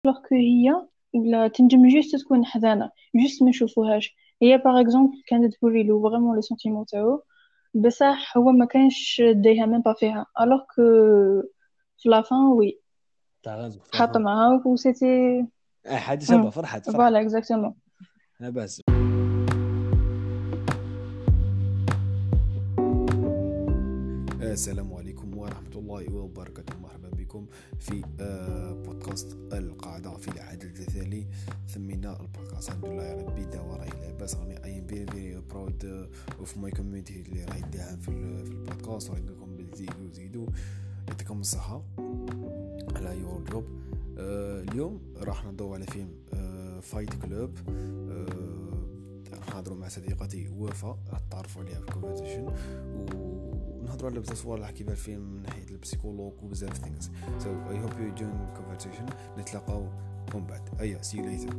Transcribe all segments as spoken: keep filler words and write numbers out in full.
alors que هي ولا تنجم جوست تكون حزانة جوست ما يشوفوهاش. هي باغ اكزومبل كانت توري له فريمون لي سونتيمون تاعو، بصح هو ما كانش دايها ميم با فيها alors que في la fin وي تاع غازو في تحط لافان. معاها و سيتي. اه حاجه شابه، فرحت فرحت. فوالا اكزاكتومون. لاباس. السلام عليكم ورحمة الله وبركاته، مرحبا بكم في آه، بودكاست القاعدة في العدد التالي. سمينا البودكاست الحمد لله يا ربي داو راهي لاباس، راني اي فيري فيري براود اوف ماي كوميونيتي اللي راهي داهم في ال- في البودكاست، وراهي لكم بزيدوا زيدوا يعطيكم الصحة على يور جوب. اليوم راح ندور على فيلم فايت كلوب. راح نهضروا مع صديقتي وفاء، راح تعرفوا عليها في الكونفرسيشن، ونهضروا على بزاف صوالح كيف الفيلم من ناحيه البسيكولوج وبزاف ثينكس. so I hope you enjoy the conversation. نتلاقاو من بعد. ايوه see you later.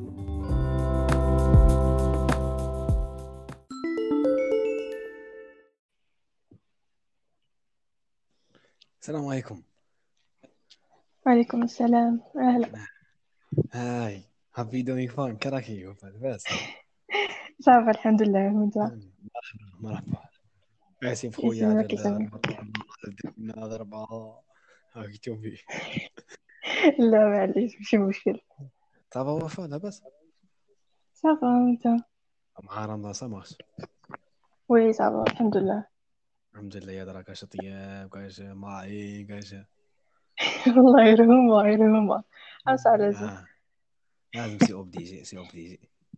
السلام عليكم. وعليكم السلام، اهلا. هاي happy doing fine. كراكي وفاء بس. صافي الحمد لله وانت؟ مرحبا مرحبا. اسف خويا على يسلمك يسلمك. الضربه ضربه هاك توبي. لا معليش ماشي مشكل. صافا وفاء لاباس صافا وانت؟ مع رمضان ساماس. وي صافا الحمد لله. الحمد لله يا دراك كاش طياب كاش ماعي كاش. الله يرحمه الله يرحمه. عاس على زين. آه. لازم سي اوبليجي سي اوبليجي.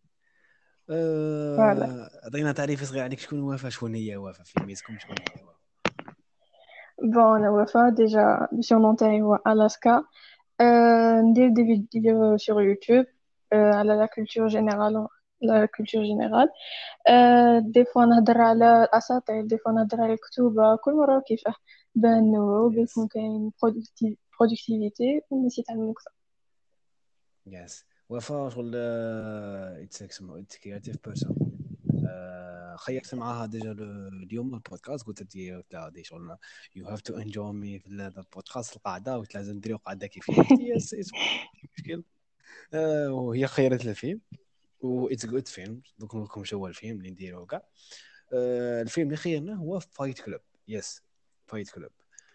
فوالا. أه... عطينا تعريف صغير عليك، شكون وفاء؟ شكون هي وفاء في ميسكم؟ شكون هي وفاء؟ بون انا وفاء ديجا السورنون تاعي هو الاسكا. أه ندير دي فيديو sur يوتيوب أه على لا كولتور جينيرال، لا كولتور جينيرال. أه دي فوا نهضر على الاساطير، دي فوا نهضر على الكتوبه، كل مره كيفاه باه نوعو يس بيكون كاين برودكتيفيتي والناس يتعلموا اكثر. يس وفاء شغل اتس اسمه اتس كرياتيف بيرسون. خيرت معاها ديجا ل- اليوم البودكاست، قلت لي قلت لها دي شغل يو هاف تو انجوي مي في هذا البودكاست القاعده، قلت لازم نديروا قاعده كيفيه، قلت لي يس اتس مشكل. أه... وهي خيرت الفيلم و اتس جود فيلم. دوك نقول لكم شو هو الفيلم اللي نديروه كاع. أه... الفيلم اللي خيرنا هو فايت كلوب. يس فايت كلوب.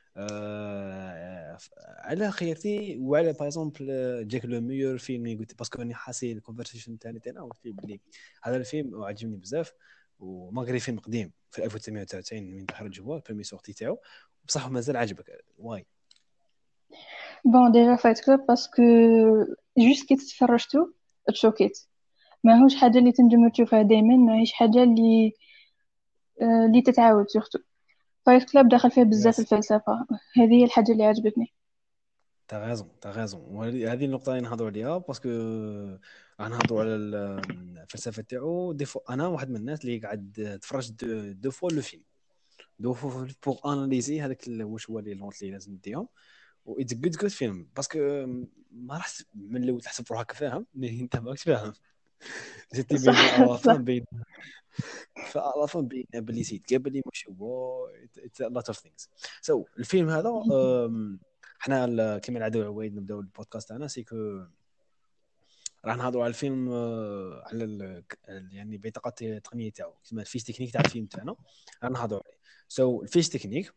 آه على خيرتي وعلى باغ اكزومبل جاك لو ميور فيلم اللي قلت باسكو راني حاسي الكونفرسيشن تاعنا تاعنا قلت لي بلي هذا الفيلم عجبني بزاف، وماغري فيلم قديم في ألف وتسعمية وتسعة وتسعين من خرج هو البريمي سورتي تاعو، بصح مازال عجبك واي؟ بون ديجا فايت كلوب باسكو جوست كي تفرجتو تشوكيت، ماهوش حاجه اللي تنجم تشوفها دائما، ماهيش حاجه اللي آه، اللي تتعاود سورتو. فايت كلاب دخل فيه بزاف يس الفلسفه، هذه هي الحاجه اللي عجبتني. تا غازون تا غازون، وهذه النقطه اللي نهضروا عليها باسكو راح نهضروا على الفلسفه تاعو. دي فو انا واحد من الناس اللي قاعد تفرج دو, دو فوا لو فيلم، دو فوا بوغ اناليزي هذاك واش هو لي لونط اللي لازم نديهم. و اتس جود جود فيلم باسكو ما راح من الاول تحسب روحك فاهم مي انت ماكش فاهم. جيتي بين صح الافان صح. بين فالافان بين بلي سيت قبل لي مش هو اتس لوت اوف ثينكس. سو الفيلم هذا أم، احنا ال- كما العاده عوايد نبداو البودكاست تاعنا سيكو راح نهضروا على الفيلم، آه، على ال يعني بطاقه التقنيه تاعو كما الفيش تكنيك تاع الفيلم تاعنا راح نهضروا عليه. سو الفيش تكنيك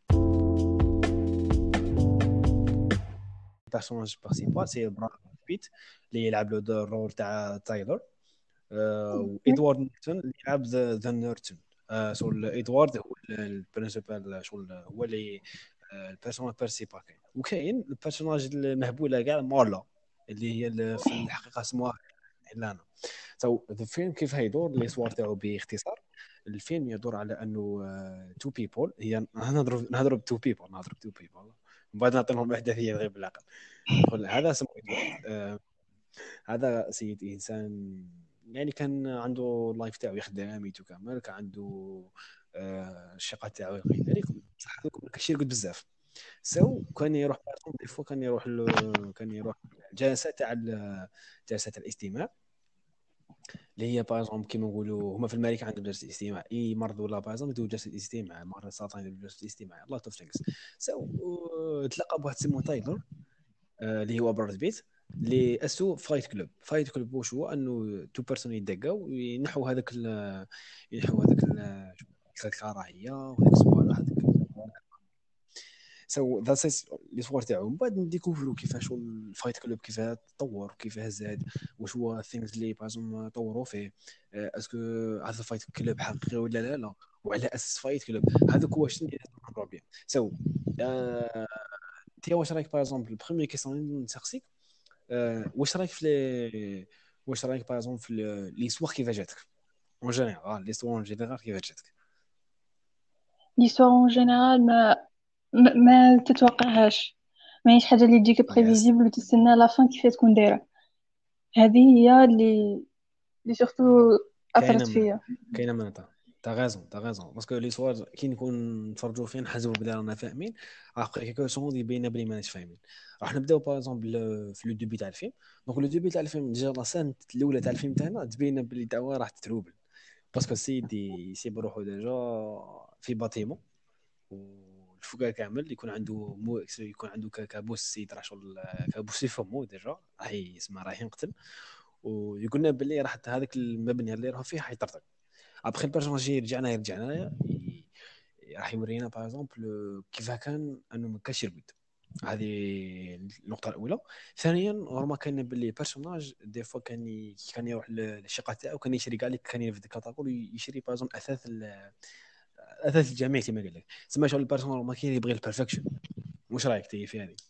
بيرسوناج برينسيبال سي براد بيت اللي يلعب له دور الرول تاع تايلور. آه، وادوارد نورتون اللي يلعب ذا ذا نورتون. آه، شغل ادوارد هو البرنسيبال، شغل هو اللي آه، البيرسوناج برينسيبال كاين. وكاين البيرسوناج المهبوله كاع مارلا اللي هي ال- في الحقيقه اسمها هيلانا. سو الفيلم كيف هيدور الاسوار تاعو باختصار. الفيلم يدور على انه تو بيبول، هي نهضروا نهضروا بتو بيبول نهضروا بتو بيبول من بعد نعطيهم الاحداثيه غير بالعقل. شغل هذا اسمه ادوارد. آه، هذا سيد انسان يعني كان عنده اللايف تاعو يخدم ميتو كامل، كان عنده آه، الشقه تاعو غير ذلك، بصح هذوك كاشي يرقد بزاف. سو كان يروح دي فوا كان يروح له كان يروح جلسه تاع ال- جلسه تاع الاستماع اللي هي باغ كيما نقولوا هما في الملك عندهم جلسه استماع، اي مرض ولا باغ يديروا جلسه استماع، مرض السرطان يديروا جلسه استماع، الله توف ثينكس. سو تلقى بواحد سمو تايلور، آه، اللي هو براد بيت. لي اسو فايت كلوب. فايت كلوب واش هو؟ انه تو بيرسون يدقاو وينحوا هذاك ال- ينحوا هذاك ال- الكراهيه وهذيك الصوالح هذيك. سو ذا سيس لي صور تاعو، من بعد نديكوفرو كيفاش الفايت كلوب كيفاه تطور وكيفاه زاد، واش هو الثينجز اللي بازوم طوروا فيه. آه، اسكو هذا الفايت كلوب حقيقي ولا لا لا، وعلى اساس فايت كلوب هذوك واش اللي لازم نهضروا بهم. سو انت واش رايك باغ البروميير كيسيون اللي نسقسيك، آه، واش رايك في لي واش رايك باغ في لي سوار كيفاش جاتك اون جينيرال، لي سوار اون جينيرال كيفاش جاتك؟ l'histoire en général ما ما, ما تتوقعهاش، ما هيش حاجة اللي تجيك يس. بريفيزيبل وتستنى لا فان كيف تكون دايرة. هذه هي اللي اللي سورتو كاينه أثرت من فيا. كاينه من تا تا غازون تا غازون باسكو لي سوار كي نكون نتفرجوا فيه نحسبوا بلي رانا فاهمين، ابخي كيكو سون يبينا بلي ماناش فاهمين. راح نبداو باغ اكزومبل في لو دوبي تاع الفيلم. دونك لو دوبي تاع الفيلم ديجا لا سان الاولى تاع الفيلم تاعنا تبين بلي تاعو راح تتروبل، باسكو السيد يسيب روحو ديجا في باتيمون، والفوقا كامل يكون عنده مو يكون عنده كابوس، السيد راه شغل كابوس في فمو ديجا راح يسمى راح ينقتل، ويقولنا باللي راح هذاك المبنى اللي راه فيه حيطرطق. ابخي البيرسوناج رجعنا يرجعنا ي- راح يورينا باغ اكزومبل كيف كان انه ما كانش يرقد. هذه النقطه الاولى. ثانيا رغم كان باللي بيرسوناج دي فوا كان ي... كان يروح للشقه تاعو، كان يشري كاع لك، كان يرفد كاتاكول يشري باغ اكزومبل اثاث ال... اثاث الجميع كما قال لك. تسمى شغل البيرسوناج ما كاين يبغي البرفكشن. واش رايك تي في هذه؟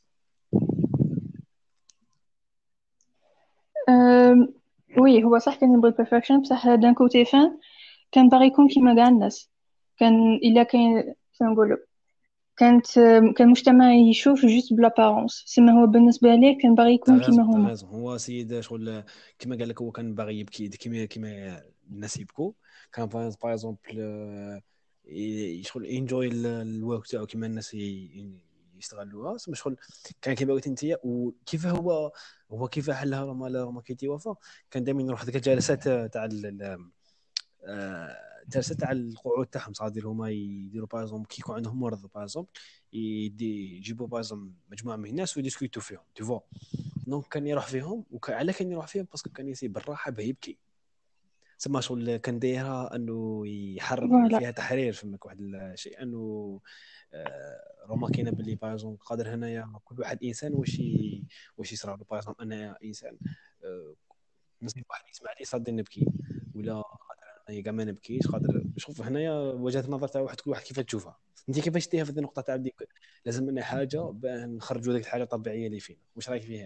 أم... وي هو صح كان يبغي البرفكشن، بصح دان كوتي فان كان باغي يكون كيما كاع الناس. كان الا كاين كيف نقولوا، كانت كان المجتمع يشوف جوست بلابارونس، سما هو بالنسبة ليه كان باغي تا يكون كيما غازون تا هما. غازون هو سيد شغل كما قال لك، هو كان باغي يبكي كيما كيما الناس يبكوا. كان باغ اكزومبل شغل انجوي الورك تاعو كيما الناس ي- يستغلوها. سما شغل كان كيما قلت انت، وكيف هو هو كيف حلها راه ما ما كيتي وفا. كان دائما يروح هذيك الجلسات تاع ال- آه، جلسات تاع القعود تاعهم، صار يديروا هما يديروا باغ اكزومبل كي يكون عندهم مرض باغ اكزومبل، يدي يجيبوا باغ اكزومبل مجموعه من الناس ويديسكوتوا فيهم تو فوا. دونك كان يروح فيهم، وعلى كان يروح فيهم باسكو كان يسيب بالراحه باه يبكي. سما شغل كان دايرها انه يحرر فوالا. فيها تحرير، فماك واحد الشيء انه آه، روما كاينه باللي باغ قادر هنايا كل واحد انسان واش ي- واش يصرى له. باغ انا انسان آه، نصيب واحد يسمع لي صادني نبكي، ولا قادر انايا كاع ما نبكيش. قادر شوف هنايا وجهه النظر تاع واحد، كل واحد كيف تشوفها. انت كيفاش تيها في هذه النقطه تاع ديك لازم لنا حاجه باه نخرجوا ذيك الحاجه الطبيعيه اللي فينا. واش رايك فيها؟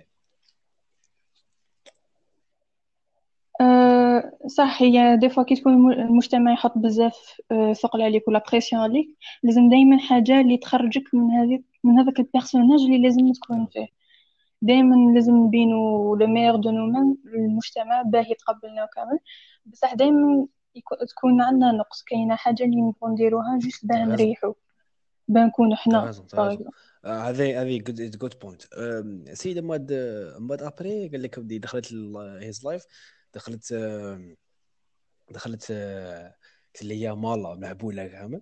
أه صح، هي دي فوا كي تكون الم- المجتمع يحط بزاف أه ثقل عليك ولا بريسيون عليك، لازم دايما حاجة اللي تخرجك من هذيك من هذاك البيرسوناج اللي لازم تكون فيه. دايما لازم نبينو لو ميور دو نومان للمجتمع باه يتقبلنا كامل. بصح دايما يكو- تكون عندنا نقص، كاينه حاجه اللي نبغوا نديروها جوست باه تغازل نريحو، باه نكونوا حنا تغازل باغ تغازل اكزومبل. آه، هذه هذه جود جود بوينت. سيده ماد ماد ابري قال لك بدي دخلت هيز لايف، دخلت آم، دخلت آه، قلت لي يا مالا مهبوله كامل.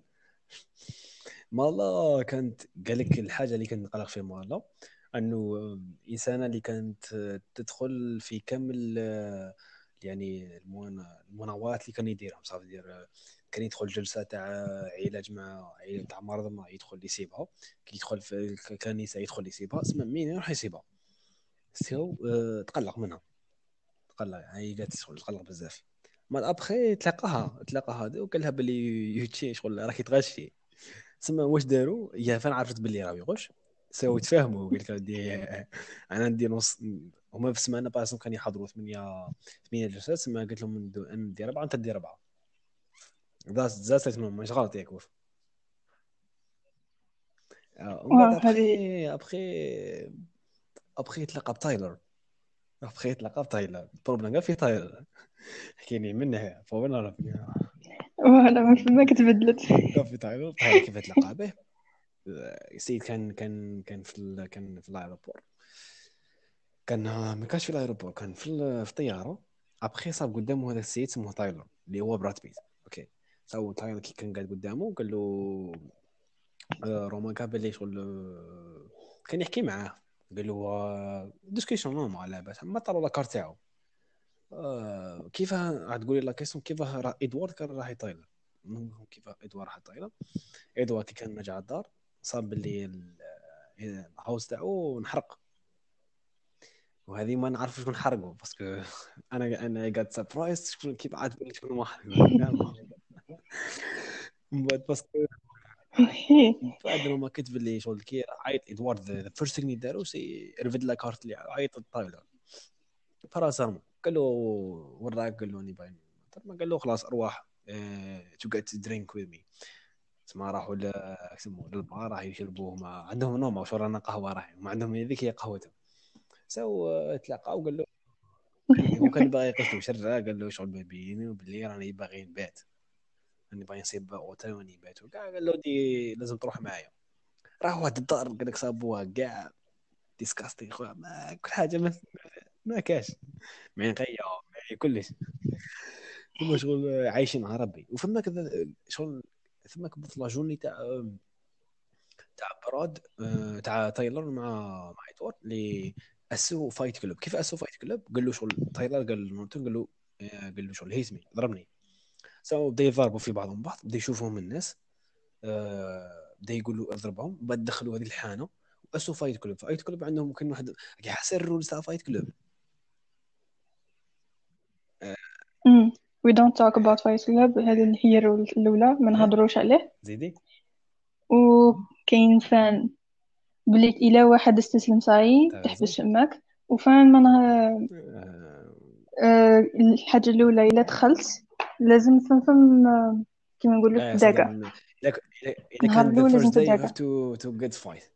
مالا كانت قال لك الحاجه اللي كنت نقلق في مالا انه آم، انسانه اللي كانت آه، تدخل في كامل آه، يعني المنا- المناورات اللي كان يديرهم. صافي يدير كان يدخل جلسه تاع علاج مع عيله تاع مرضى، ما يدخل يسيبها. كي يدخل في الكنيسه يدخل يسيبها، اسمع مين يروح يسيبها. سيو أه تقلق منها، تقلق هي جات شغل تقلق بزاف. ما ابخي تلاقاها تلاقاها هذا وقال لها باللي يوتشي شغل راكي تغشي. تسمى واش داروا هي فين عرفت باللي راه يغش. ساو يتفاهموا، قال لك ودي انا ندير نص. هما في السمانه باسم كانوا يحضروا ثمانيه ثمانيه جلسات. سما قلت لهم ندو- انا ندير اربعه انت دير اربعه. ذا ذا ستمنهم مش غلط ياك وف. آه، ومن بعد واه هذه. ابخي ابخي ابخي يتلاقى بتايلر. ابخي يتلاقى بتايلر البروبليم كاع في تايلر. حكيني منها فوالا فوالا ما في- ما كتبدلت. كان في تايلر. تايلر كيف تلاقى به؟ السيد كان كان كان في ال... كان في الايروبور. كان ما كانش في الايروبور، كان في ال- في الطياره. ابخي صاب قدامه هذا السيد اسمه تايلر اللي هو براد بيت. اوكي. سو تايلر كي كان قاعد قدامه قال له آه، رومان كان باللي شغل آه، كان يحكي معاه. قال له ديسكسيون نورمال على باس ما طلعوا لا كارت تاعو. آه كيفاه راح تقولي لا كيسون كيفاه راه ادوارد كان راح يطير. كيفاه ادوارد راح يطير؟ ادوارد كي كان راجع الدار صاب باللي ال- الهاوس تاعو نحرق. وهذه ما نعرفش شكون حرقه باسكو انا انا قاعد سربرايز شكون كيف عاد تقول لي شكون واحد فاهم. من بعد باسكو بعد ما كتب لي شغل كي عيط ادوارد ذا فيرست ثينغ دارو سي رفد لا كارت اللي عيط الطاوله فراسهم. قال له وراك قال له اني باين ما قال له خلاص ارواح تو جيت درينك وذ مي. تسمى راحوا ل يسموه للبار راح يشربوه ما عندهم نوم شو رانا قهوه راح ما عندهم هذيك هي قهوتهم. سو تلاقاو قال له هو كان باغي يقصدو شرا قال له شغل بيني وباللي راني باغي نبات راني باغي نصيب اوتيل وني بات وكاع. قال له دي لازم تروح معايا. راح واحد الدار قال لك صابوها كاع ديسكاستي خويا ما كل حاجه ما, ما كاش معين قيا كلش. ثم شغل عايشين مع ربي وفما كذا شغل ثم كبط لا جورني تاع تاع براد آه، تاع تايلر مع مع ايتور اللي اسو فايت كلوب. كيف اسو فايت كلوب؟ قال له شغل تايلر قال نورتون قال له آه، قال له شغل هيزمي ضربني. سو بدا يضربوا في بعضهم بعض بدا يشوفهم الناس آه، بدا يقولوا اضربهم بعد دخلوا هذه الحانه واسو فايت كلوب. فايت كلوب عندهم كان واحد يحسن الرولز تاع فايت كلوب. آه، أمم. we don't talk about Fight Club. هذه هي الرول الأولى ما ها نهضروش عليه. زيدي. وكاين فان بليت إلا واحد استسلم صاي تاع تحبس ريزون. فماك. وفان ما نه... آه، آه، الحاجة الأولى إلا دخلت لازم فم فم آه، كيما نقولوا اه صح تداقى. لازم اذا اذا نهار كان the الأول لازم first day you have تداقى. to to get fight.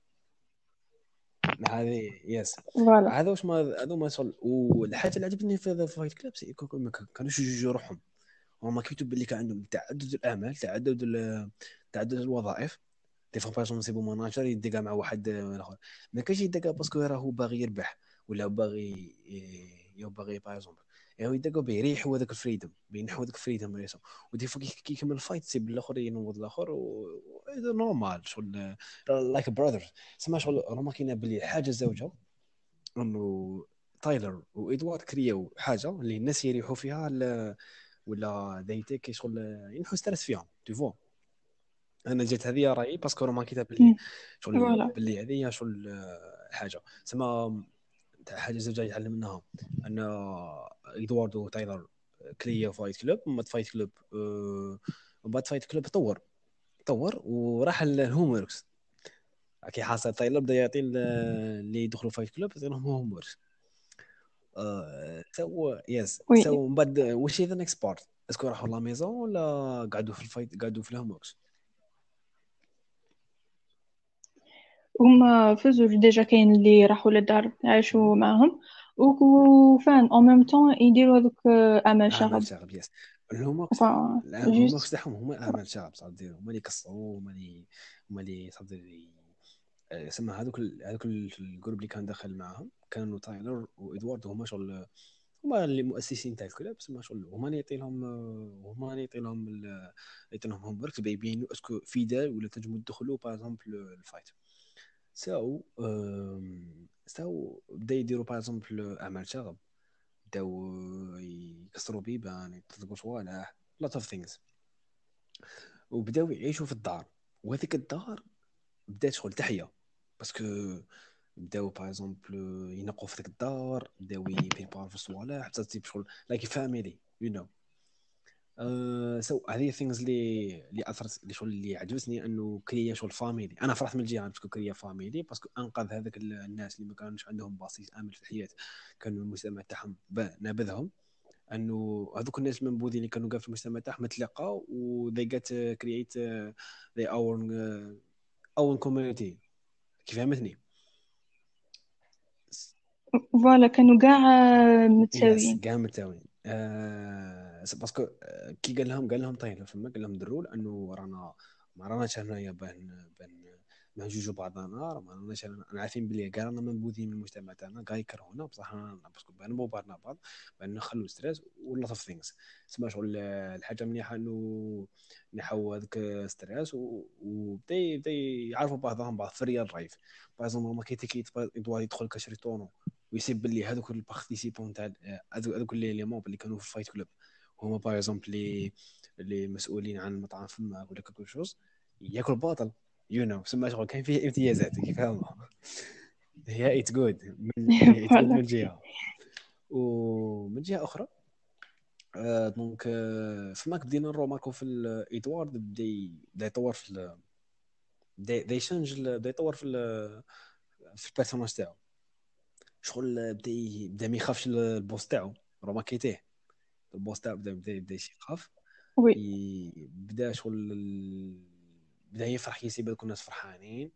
هذه يس. فوالا. هذا واش ما هذا ما شغل. والحاجه اللي عجبتني في ذا فايت كلاب ما كانوش يجوجوا روحهم. هما كيكتب باللي كان عندهم تعدد الاعمال تعدد ال- تعدد الوظائف. دي فوا باغ نصيبوا ماناجر يدقى مع واحد اخر ما كاينش يدقى باسكو راهو باغي يربح ولا باغي يا باغي باغ اكزومبل يعني يدقوا بيريحوا هذاك الفريدم بينحوا هذاك الفريدم. ودي فوا كي يكمل الفايت تسيب الاخر ينوض الاخر و نورمال شغل لايك براذرز. سما شغل هما كاينه باللي حاجه زوجه انه تايلر وادوارد كرياو حاجه اللي الناس يريحوا فيها ل- ولا دايتك شغل ينحوا ستريس فيهم تو فوا. انا جات هذه رايي باسكو رومان كتاب باللي أمم. شغل فوالا. باللي هذه شغل آه، حاجه سما تاع حاجه زوجة يتعلم منها ان ادوارد وتايلر كريا فايت كلوب ومن بعد فايت كلوب آه، ومن بعد فايت كلوب طور طور وراح الهوم وركس. كي حاصل تايلر بدا يعطي ال- اللي يدخلوا فايت كلوب يعطيهم هوم وركس. آه، سو يس وي. سو من بعد واش هي ذا نيكست بارت؟ اسكو راحوا لا ميزون ولا قعدوا في الفايت قعدوا في الهوم وركس؟ هما فازوا ديجا كاين اللي راحوا للدار عاشوا معاهم. وفان اون ميم طون يديروا هذوك آه، اعمال اعمال شغب. شغب يس. الهوم وركس فا الهوم وركس جوست. تاعهم هما اعمال شغب صار ديروا هما اللي يكسروا هما اللي هما اللي صار سما هذوك ال- هذوك ال- الجروب اللي كان داخل معاهم كانوا تايلر وادوارد هما شغل هما اللي مؤسسين تاع الكلاب. سما شغل هما اللي يعطي لهم هما اللي يعطي لهم ال- يعطي لهم هوم ورك بيبينوا اسكو فيدال ولا تنجموا تدخلوا باغ اكزومبل الفايت. ساو أم، ساو بدا يديروا باغ اكزومبل اعمال شغب بداو يكسروا بيبان يطلقوا صوالح لوت اوف ثينجز وبداو يعيشوا في الدار. وهذيك الدار بدات شغل تحيا باسكو بداو باغ اكزومبل ينقوا في ذيك الدار بداو يبريبارو في الصوالح حتى تجيب شغل لايك فاميلي يو نو. سو هذه ثينجز اللي اللي اثرت اللي شغل اللي عجبتني انه كريا شغل فاميلي. انا فرحت من الجهه باسكو كريا فاميلي باسكو انقذ هذاك الناس اللي ما كانوش عندهم باسيس امن في الحياه كانوا المجتمع تاعهم نابذهم. انه هذوك الناس المنبوذين اللي كانوا قاعد في المجتمع تاعهم تلاقاو و they get uh, create uh, their own uh, own community. كيف فهمتني؟ فوالا كانوا كاع آه، يس متساويين. كاع متساويين. آه باسكو آه، كي قال لهم قال لهم طيب فما قال لهم دروا انه رانا ما راناش هنايا بان بان ما نجوجو بعضنا راه ما راناش انا عارفين بلي كاع رانا منبوذين من المجتمع تاعنا كاع يكرهونا بصح انا باسكو نبو بعضنا بعض بان نخلو ستريس ولا اوف ثينكس. تسمى شغل الحاجه مليحه انه نحو هذاك ستريس وبدا يبدا يعرفوا بعضهم بعض في الريال لايف. باغ ما كيتي كي يدوار يدخل كشري طونو ويسيب بلي هذوك البارتيسيبون تاع هذوك اللي مون اللي كانوا في الفايت كلوب هما باغ اكزومبل اللي اللي مسؤولين عن المطعم فماك ولا كل شوز ياكل باطل يو نو سما شغل كان فيه امتيازات كيف فاهمه. هي ات جود من هي ات جود فوالا. من جهه ومن جهه اخرى آه دونك آه فماك بدينا نروماركو في الايدوارد بدا بدا يطور في ال- بدا بدا يشنج ال- بدا يطور في ال- في البيرسوناج تاعو شغل بدا ي- بدا ما يخافش البوس تاعو روماركيتيه البوس تاعو بدا بدا بدا يخاف وي. ي- بدا شغل ال- بدا يفرح كيسيب هذوك الناس فرحانين.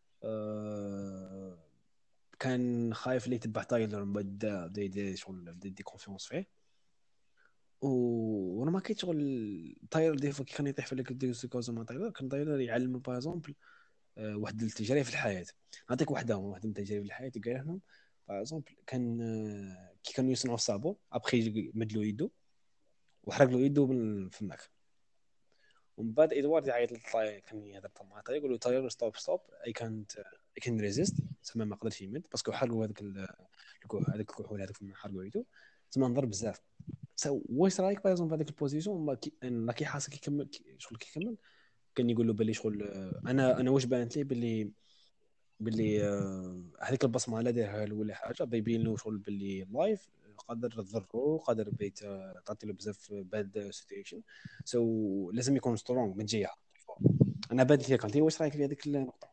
آه كان خايف اللي يتبع تايلر من بعد بدا بدا يدير شغل بدا يدي كونفيونس فيه و- وانا ما كنت شغل تايلر دي فوا كي كان يطيح في لك ديكوزا مع تايلر كان تايلر يعلم باغ اكزومبل واحد التجارب في الحياه. نعطيك واحده واحده من التجارب في الحياه قال لهم باغ اكزومبل كان آه، كي كانوا يصنعوا الصابون ابخي مدلو يدو وحرق له يدو من فماك ومن بعد ادوارد يعيط للطاي كان يهضر مع تايلر يقول له تايلر ستوب ستوب اي كانت اي كان ريزيست تسمى ما قدرش يمد باسكو حرقوا هذاك ال- الكح- هذاك الكحول هذاك حرقوا يدو تسمى نضرب بزاف. سو واش رايك باغ اكزومبل في هذيك البوزيسيون ما كي انا كي حاسس كي كمل كي- شغل كي كمل كان يقول له بلي شغل آه، انا انا واش بانت لي بلي بلي آه، هذيك البصمه لا دارها له ولا حاجه بيبين له شغل بلي لايف قادر تضره قادر بيت آه، تعطي له بزاف باد سيتويشن سو لازم يكون سترونغ من جهه. انا بانت لي كنتي واش رايك في هذيك النقطه؟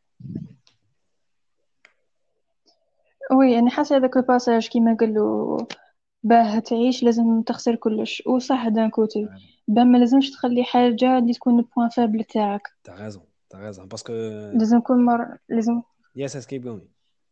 وي يعني حاسة هذاك الباساج كيما قال له باه تعيش لازم تخسر كلش، وصح دان كوتي. باه ما لازمش تخلي حاجة اللي تكون البوان فابل تاعك. تاع غازون تاع غازون باسكو لازم كل مرة لازم يس اس كيب جوين.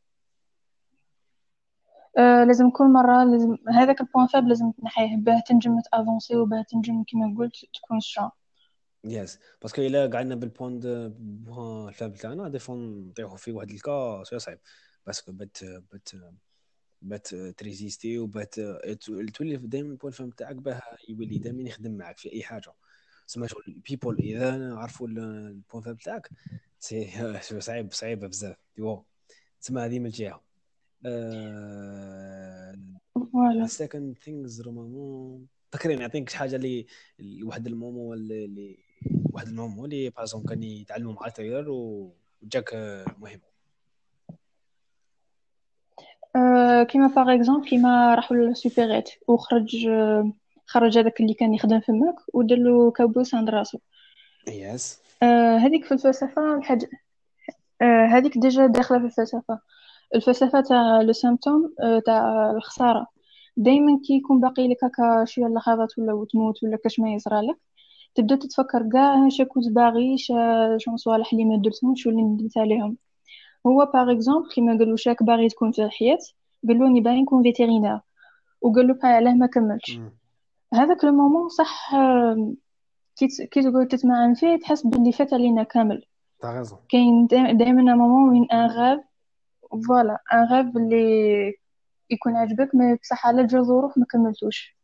آه لازم كل مرة لازم هذاك البوان فابل لازم تنحيه باه تنجم تافونسي وباه تنجم كيما قلت تكون سترونغ. يس باسكو الا قعدنا بالبوان دو بوان الفاب تاعنا دي فون نطيحوا في واحد الكا شويه صعيب باسكو بات بات بات تريزيستي وبات تولي دائما البوان فهم تاعك باه يولي دائما يخدم معك في اي حاجه. سما شغل البيبول اذا عرفوا البوان فهم تاعك سي شويه صعيب صعيبه بزاف ديو تسمى هذه من جهه. فوالا. السكند ثينجز رومامون فكرين نعطيك شي حاجه اللي واحد المومو اللي اللي- واحد المومو اللي بازون كان يتعلموا مع تايلر وجاك آه، مهم. آه كيما باغ اكزومبل كيما راحوا للسوبيريت وخرج آه خرج هذاك اللي كان يخدم في الماك ودلو كابوس عند راسو. يس آه هذيك في الفلسفة الحاجة. آه هذيك ديجا داخلة في الفلسفة. الفلسفة تاع لو سيمبتوم آه تاع الخسارة. دايما كي يكون باقي لك هكا شوية لحظات ولا وتموت ولا كاش ما يصرالك تبدا تتفكر كاع شا كنت باغي شا شنو صوالح اللي ما درتهمش واللي ندمت عليهم. هو باغ اكزومبل كيما قالوا شاك باغي تكون في الحياة قالوا اني باغي نكون فيتيرينير وقالوا بقى علاه ما كملتش. هذاك المومون صح آه، كي ت- كي تقعد تتمعن فيه تحس باللي فات علينا كامل. تاع غازون كاين دائما مومون وين ان غاف فوالا ان غاف اللي يكون عجبك ما بصح على جا ظروف ما كملتوش.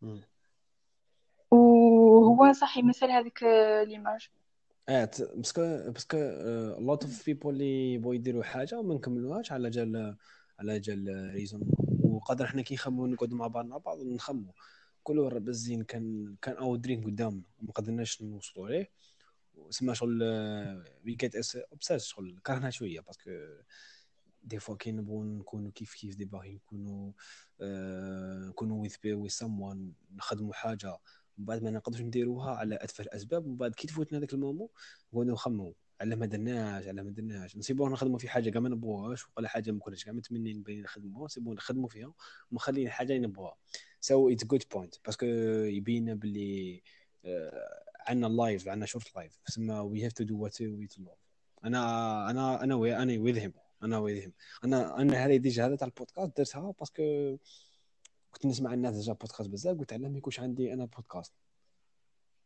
وهو صح يمثل هذيك آه، ليماج. اه ت- باسكو باسكو لوت اوف بيبول اللي يبغوا يديروا حاجه وما نكملوهاش على جال على جال ريزون وقادر احنا كي نخمموا نقعدوا مع بعض مع بعض نخمموا كل راه بزين كان كان او درينك قدامنا وما قدرناش نوصلوا ليه وسما شغل وي جيت اوبسيس شغل كرهنا شويه باسكو دي فوا كي نبغوا نكونوا كيف كيف دي باغي نكونوا آه، نكونوا ويز بي ويز سموان نخدموا حاجه من بعد ما نقدرش نديروها على اتفه الاسباب من بعد كي تفوتنا هذاك المومو نقعدوا نخمموا على ما درناش على ما درناش نسيبوها نخدموا في حاجه كاع ما نبغوهاش ولا حاجه ما كناش كاع متمنين بين نخدموها نسيبوها نخدموا فيها ومخلين الحاجه اللي نبغوها. سو اتس جود بوينت باسكو يبين باللي آه، عندنا لايف عندنا شورت لايف تسمى وي هاف تو دو وات وي تو لوف. انا انا انا وي انا ويذ هيم انا ويذ هيم انا انا هذه ديجا هذا تاع البودكاست درتها باسكو كنت نسمع الناس ديجا بودكاست بزاف قلت علاه ما يكونش عندي انا بودكاست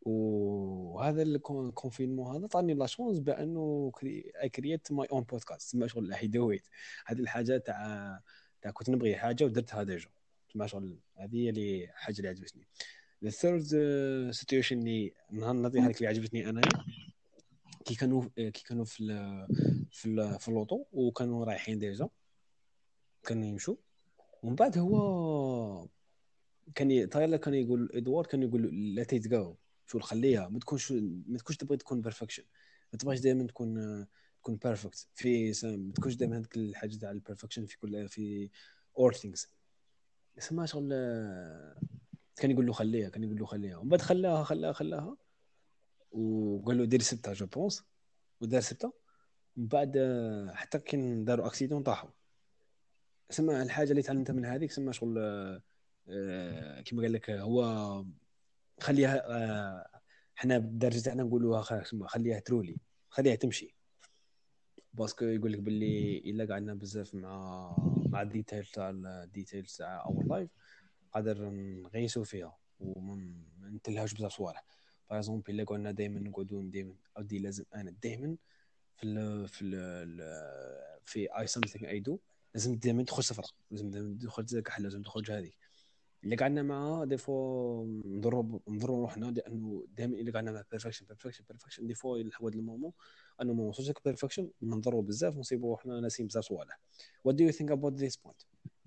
وهذا الكونفينمون هذا طاني لا شونس بانه كرييت ماي اون بودكاست تسمى شغل اي دو ات. هذه الحاجه تاع تاع كنت نبغي حاجه ودرتها ديجا تسمى شغل. هذه هي اللي حاجه اللي عجبتني. الثيرد سيتويشن اللي نهار نعطيها لك اللي عجبتني انايا، كي كانوا كي كانوا في ال في ال في اللوطو وكانوا رايحين ديجا كانوا يمشوا. ومن بعد هو كان ي... تايلر كان يقول ادوارد كان يقول لا تيتجو شو خليها ما تكونش ما تكونش تبغي تكون بيرفكشن. ما تبغاش دائما تكون تكون بيرفكت في س- ما تكونش دائما هذيك الحاجه تاع البيرفكشن في كل في all things. يسمى شغل كان يقول له خليها كان يقول له خليها ومن بعد خلاها خلاها خلاها وقال له دير سبتها جو بونس ودار سبتها. من بعد حتى كان داروا اكسيدون طاحوا. سمع الحاجه اللي تعلمتها من هذيك سمى شغل آه، كما قال لك هو خليها آه، احنا بالدرجه تاعنا نقولوها خ- خليها ترولي خليها تمشي. باسكو يقول لك باللي الا قعدنا بزاف مع مع الديتيل تاع الديتيلز تاع اور لايف قادر نغيسوا فيها وما نتلهاش بزاف صوالح. باغ اكزومبل الا قلنا دائما نقعدوا دائما اودي لازم انا دائما في ال في ال في اي سمثينغ اي دو لازم دائما تدخل صفرة لازم دائما تدخل كحل لازم تخرج هذه اللي قعدنا معاه دي فوا نضرب نضرب روحنا لانه دائما اللي قعدنا مع بيرفكشن بيرفكشن بيرفكشن دي فوا لحد المومون انه ما وصلش لك بيرفكشن نضربوا بزاف ونصيبوا روحنا ناسين بزاف صوالح. What do you think about this point?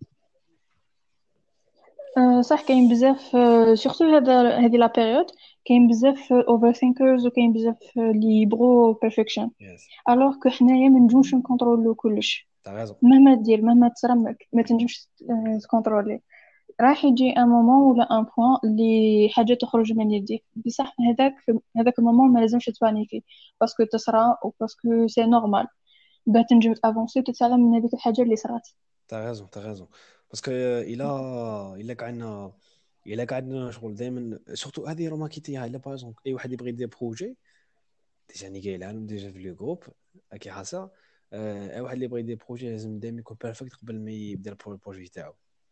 أه صح، كاين بزاف أه سورتو هذا هذه لا بيريود كاين بزاف اوفر ثينكرز وكاين بزاف آه، اللي يبغوا بيرفكشن. Yes. الوغ كو حنايا ما نجمش نكونترولو كلش. t'as raison. مهما دير مهما تصرمك ما تنجمش آه، تكونترولي. راح يجي ان مومون ولا ان بوين اللي حاجه تخرج من يديك بصح هذاك هذاك المومون ما لازمش تبانيكي باسكو تصرا وباسكو سي نورمال باش تنجم تافونسي وتتعلم من هذيك الحاجه اللي صرات. t'as raison t'as raison باسكو الا الا قعدنا الا قعدنا شغل دائما سورتو هذه روماكيتيها الا باغ اي واحد يبغي يدير بروجي ديجا ني قايل لهم ديجا في لو جروب كي حاسه اي واحد اللي يبغي يدير بروجي لازم دائما يكون بيرفكت قبل ما يبدا البروجي تاعو.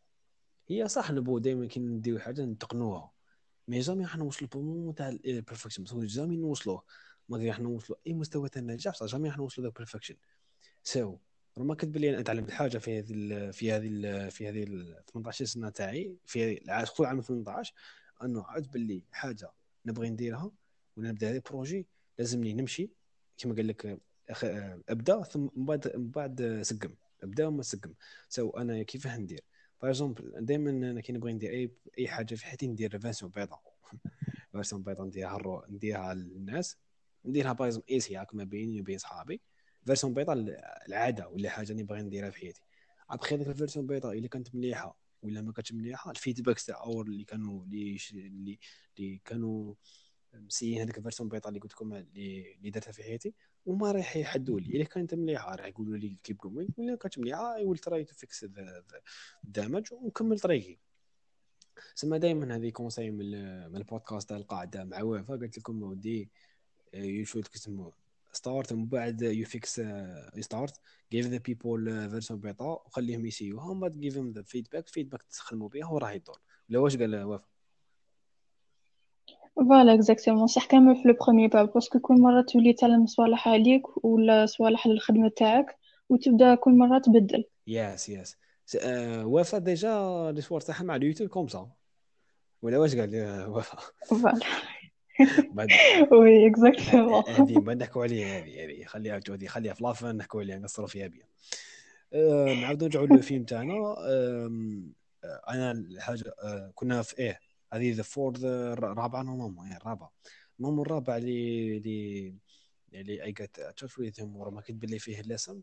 هي صح نبغوا دائما كي نديرو حاجه نتقنوها مي جامي راح نوصلوا للبومون تاع البرفكشن بس جامي نوصلوه ما راح نوصلوا اي مستوى تاع النجاح بصح جامي راح نوصلوا للبرفكشن. سو رما كتب لي انا تعلمت حاجه في هذه ال في هذه ال في هذه ال ثمانية عشر سنه تاعي في الع- خصوصا عام ثمانية عشر انه عاد باللي حاجه نبغي نديرها ولا نبدا هذا بروجي لازمني نمشي كما قال لك أخ... ابدا ثم من بعد من بعد سقم ابدا وما سقم. سو انا كيفاه ندير باغ اكزومبل دائما انا كي نبغي ندير اي اي حاجه في حياتي ندير فيرسيون بيضاء فيرسيون بيضاء نديرها الرو... نديرها للناس نديرها باغ اكزومبل ايسي هاك ما بيني وبين صحابي فيرسيون بيضاء العاده ولا حاجه اللي باغي نديرها في حياتي. ابخي هذيك الفيرسيون بيضاء الا كانت مليحه ولا ما كانتش مليحه الفيدباك تاع اور اللي كانوا اللي اللي, اللي كانوا مسيين هذيك الفيرسيون بيضاء اللي قلت لكم اللي اللي درتها في حياتي وما راح يحدوا لي الا كانت مليحه راح يقولوا لي كيب جوين ولا كانت مليحه اي ويل تراي تو فيكس الدامج ونكمل طريقي. سما دائما هذه كونساي من من البودكاست تاع القاعده مع وفاء قلت لكم ودي you should كتسمو start ومن بعد you fix uh, you start give the people uh, version بيضاء وخليهم يسيوها وما give them the feedback feedback تخدموا بها وراه يدور. ولا واش قال وفاء؟ فوالا اكزاكتومون صح كامل في لو بروميير با باسكو كل مره تولي تعلم صوالح عليك ولا صوالح للخدمه تاعك وتبدا كل مره تبدل. يس يس وفاء ديجا الاسوار تاعها مع اليوتيوب كومسا ولا واش قال لي وفاء؟ فوالا بعد وي اكزاكتومون. هذه ما نحكوا عليها هذه هذه خليها هذه خليها في لافان نحكوا عليها نقصروا فيها بيان. أه نعاودوا نرجعوا للفيلم تاعنا. أم، أه انا الحاجه أه كنا في ايه هذه ذا فورد الرابعه نورمالمون ايه الرابعه نورمال الرابع اللي اللي اللي اي جت تشوف ويثم ورا ما كنت باللي فيه اللسن.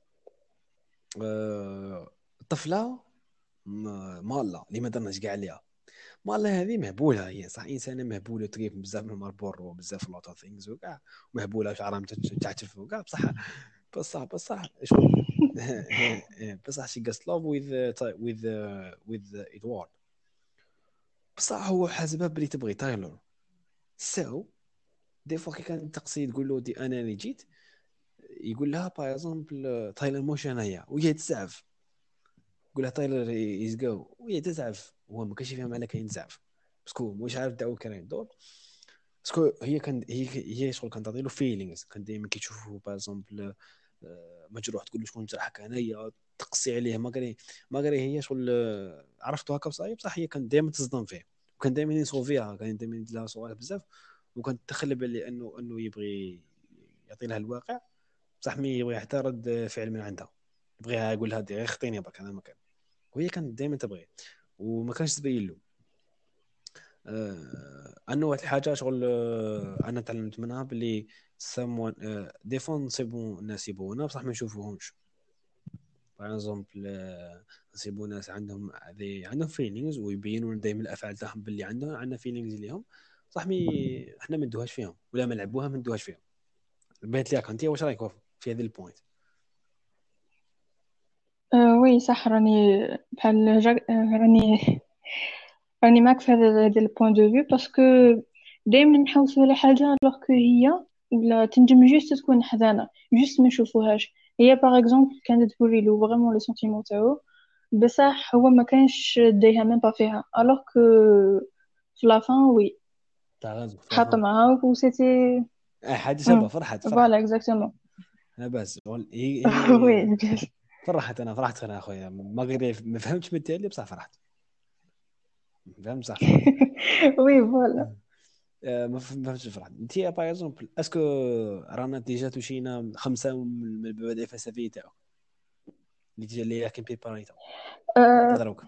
أه الطفله م- مالا اللي ما درناش كاع عليها مالا هذه مهبوله هي صح انسانه مهبوله تريف بزاف من المربور وبزاف لوط اوف ثينجز وكاع مهبوله شعرها متعتف وكاع بصح بصح بصح شغل بصح شي قاست لوف وذ وذ وذ ادوارد بصح هو حاسبها بلي تبغي تايلور. سو دي فوا كي كان تقصي تقول له دي انا اللي جيت يقول لها باغ اكزومبل تايلور موش انايا وهي تزعف يقول لها تايلور از جو وهي تزعف هو ما كانش يفهم على كاين تزعف باسكو مش عارف داو كان يدور. باسكو هي كان هي هي شغل كان تعطي له فيلينغز، كان دائما كيشوفه باغ اكزومبل مجروح تقول له شكون جرحك انايا، تقصي عليه ما قري ما قري هي شغل آه، عرفتو هكا بصايب بصح هي كانت دائما تصدم فيه، وكان دائما يصوفيها، كان دائما يدير لها صوالح بزاف، وكانت تخلب عليه انه انه يبغي يعطي لها الواقع، بصح مي يبغي حتى رد فعل من عندها، يبغيها يقول لها غير خطيني برك انا ما كان، وهي كانت دائما تبغي وما كانش تبين له. آه، انه واحد الحاجه شغل آه، انا تعلمت منها باللي ساموان دي فون نصيبو الناس يبغونا بصح ما نشوفوهمش. باغ اكزومبل نصيبو ناس عندهم ذي عندهم فيلينغز ويبينوا دائما الافعال تاعهم باللي عندهم عندنا فيلينغز ليهم، صح مي احنا ما ندوهاش فيهم ولا ما نلعبوها ما ندوهاش فيهم. بانت ليك انت واش رايك في هذه البوينت؟ أه وي صح، راني بحال جا... آه، راني راني معك في هذا هذا البوان دو فيو، باسكو دائما نحوسوا على حاجه الوغ كو هي ولا تنجم جوست تكون حزانه، جوست ما نشوفوهاش. هي باغ اكزومبل كانت توري له فريمون لي سونتيمون تاعو، بصح هو ما كانش دايها ميم با فيها، الوغ كو في لافان وي تاع غازو حاط فلافون معاها و سيتي. اه حاجه شابه، فرحت فرحت فوالا اكزاكتومون. انا بس شغل هي هي وي فرحت انا فرحت انا اخويا ما غير ما فهمتش من التالي بصح فرحت، فهمت بصح فرحت. وي فوالا. آه، ما فهم- ما فهمتش فرحت انت باغ اكزومبل اسكو رانا ديجا توشينا خمسه من المبادئ الفلسفيه تاعو اللي ديجا اللي راكن بيباريتها حتى أه دروك.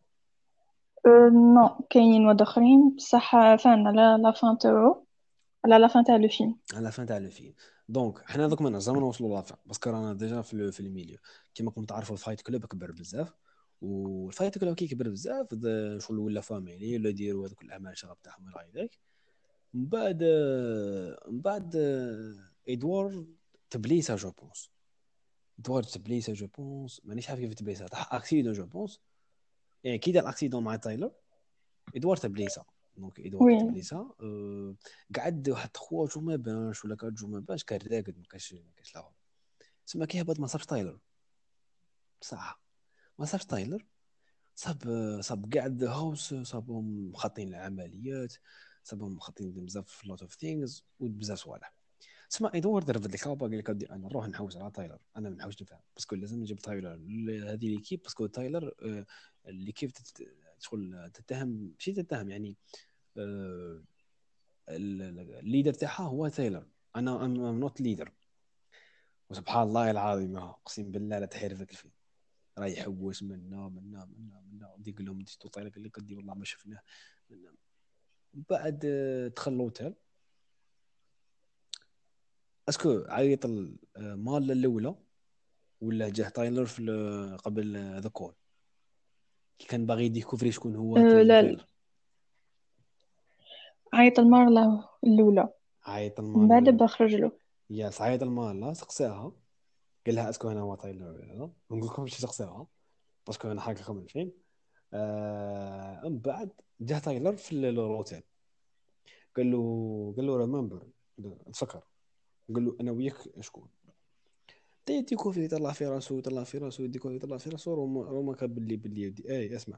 أه نو كاينين واد اخرين بصح فان على لا فان تاعو، على لا فان تاع لو فيلم. على فان تاع لو فيلم. دونك حنا دوك ما نجمو نوصلوا لافان باسكو رانا ديجا في ال- في الميليو. كيما كنت تعرفوا الفايت كلوب كبر بزاف، والفايت كلوب كي كبر بزاف د- شغل ولا فاميلي ولا يديروا هذوك الاعمال الشغب تاعهم الى غير ذلك. من بعد من بعد ادوارد تبليسه جو بونس. ادوارد تبليسه جو بونس مانيش عارف كيف تبليسه، طاح اكسيدون جو بونس، يعني كي دار الاكسيدون مع تايلر ادوارد تبليسه. دونك ادوارد وي تبليسه أه قعد واحد خوا جو ما بانش ولا كان جو ما بانش كان راقد ما كانش ما كانش لا. تسمى كي هبط ما صابش تايلر بصح، ما صابش تايلر، صاب صاب قاعد هاوس، صابهم خاطين العمليات، صابهم خاطين بزاف لوت اوف ثينجز وبزاف صوالح. تسمى ادوارد رفد الكابا قال لك انا نروح نحوس على تايلر، انا ما نحوسش نفهم باسكو لازم نجيب تايلر لهذه ليكيب، باسكو تايلر آه، ليكيب تت- شغل تتهم ماشي تتهم يعني آه، ال- ال- الليدر تاعها هو تايلر، انا ام نوت ليدر. وسبحان الله العظيم اقسم بالله لا تحير ذاك الفيلم راه يحوس منا منا منا منا ودي يقول لهم ديتو طايله قال لك قدي والله ما شفناه منا. بعد آه، دخل لوتيل. اسكو عيط المال الاولى ولا جاه تايلر في ال- قبل ذا كول كي كان باغي يديكوفري شكون هو أه لا، تايلر. عيط المرة الأولى عيط من المال بعد الاولى بخرج له. يا عيط المال لا سقساها، قال لها اسكو انا هو تايلر ولا لا، ما نقول لكمش سقساها باسكو انا حاكي لكم الفيلم. آه من بعد جاه تايلر في ال- الروتيل قال له قال له ريمبر تفكر، قال له انا وياك شكون، تي ديكوفري يطلع في راسو يطلع في راسو ديكوفري يطلع في راسو روما روما كان باللي باللي يدي اي اسمع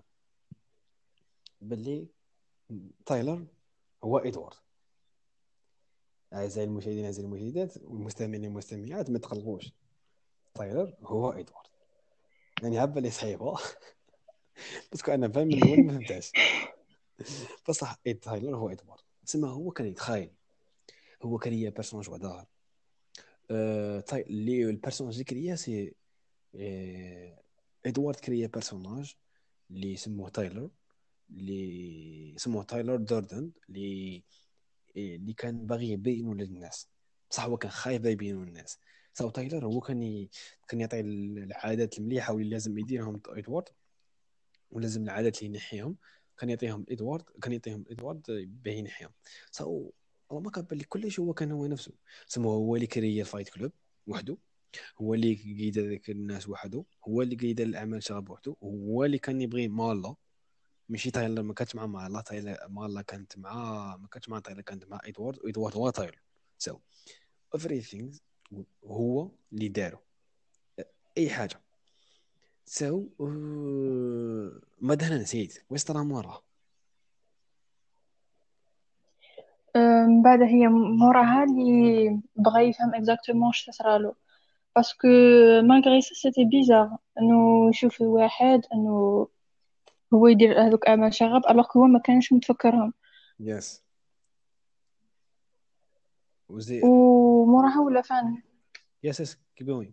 باللي تايلر هو ادوارد. اعزائي المشاهدين اعزائي المشاهدات والمستمعين والمستمعات ما تقلقوش، تايلر هو ادوارد. يعني هبه اللي صحيحه بس انا فاهم من الاول ما فهمتهاش بصح إيه تايلر هو ادوارد. تسمى هو كان يتخايل، هو كان هي بيرسوناج وعدار أه تاي... اللي البيرسوناج اللي كريا سي إيه... ادوارد كريا بيرسوناج اللي سموه تايلر، اللي سموه تايلر دوردن، اللي اللي كان باغي يبينه للناس بصح هو كان خايف يبينه للناس. ساو تايلر هو كان ي... كان يعطي العادات المليحه واللي لازم يديرهم ادوارد، ولازم العادات اللي ينحيهم كان يعطيهم ادوارد، كان يعطيهم ادوارد باه ينحيهم. ساو هو ما كان بالي كلش هو كان هو نفسه. سمو هو اللي كري الفايت كلوب وحده، هو اللي قيد ذاك الناس وحده، هو اللي قيد الاعمال شغب وحده، هو اللي كان يبغي مالا ماشي تايلر ما كانتش مع مالا، تايلر مالا كانت مع ما كانتش مع تايلر كانت مع ادوارد، وادوارد هو تايلر. سو everything هو اللي دارو اي حاجه. سو uh, ما دهنا نسيت ويسترا مورا. من بعد هي موراها اللي بغى يفهم اكزاكتومون اش تصرالو، باسكو مالغري سا سيتي بيزار انه يشوف الواحد انه هو يدير هذوك اعمال شغب الوغ هو ما كانش متفكرهم. يس. وزي. وموراها ولا فان يس يس keep going.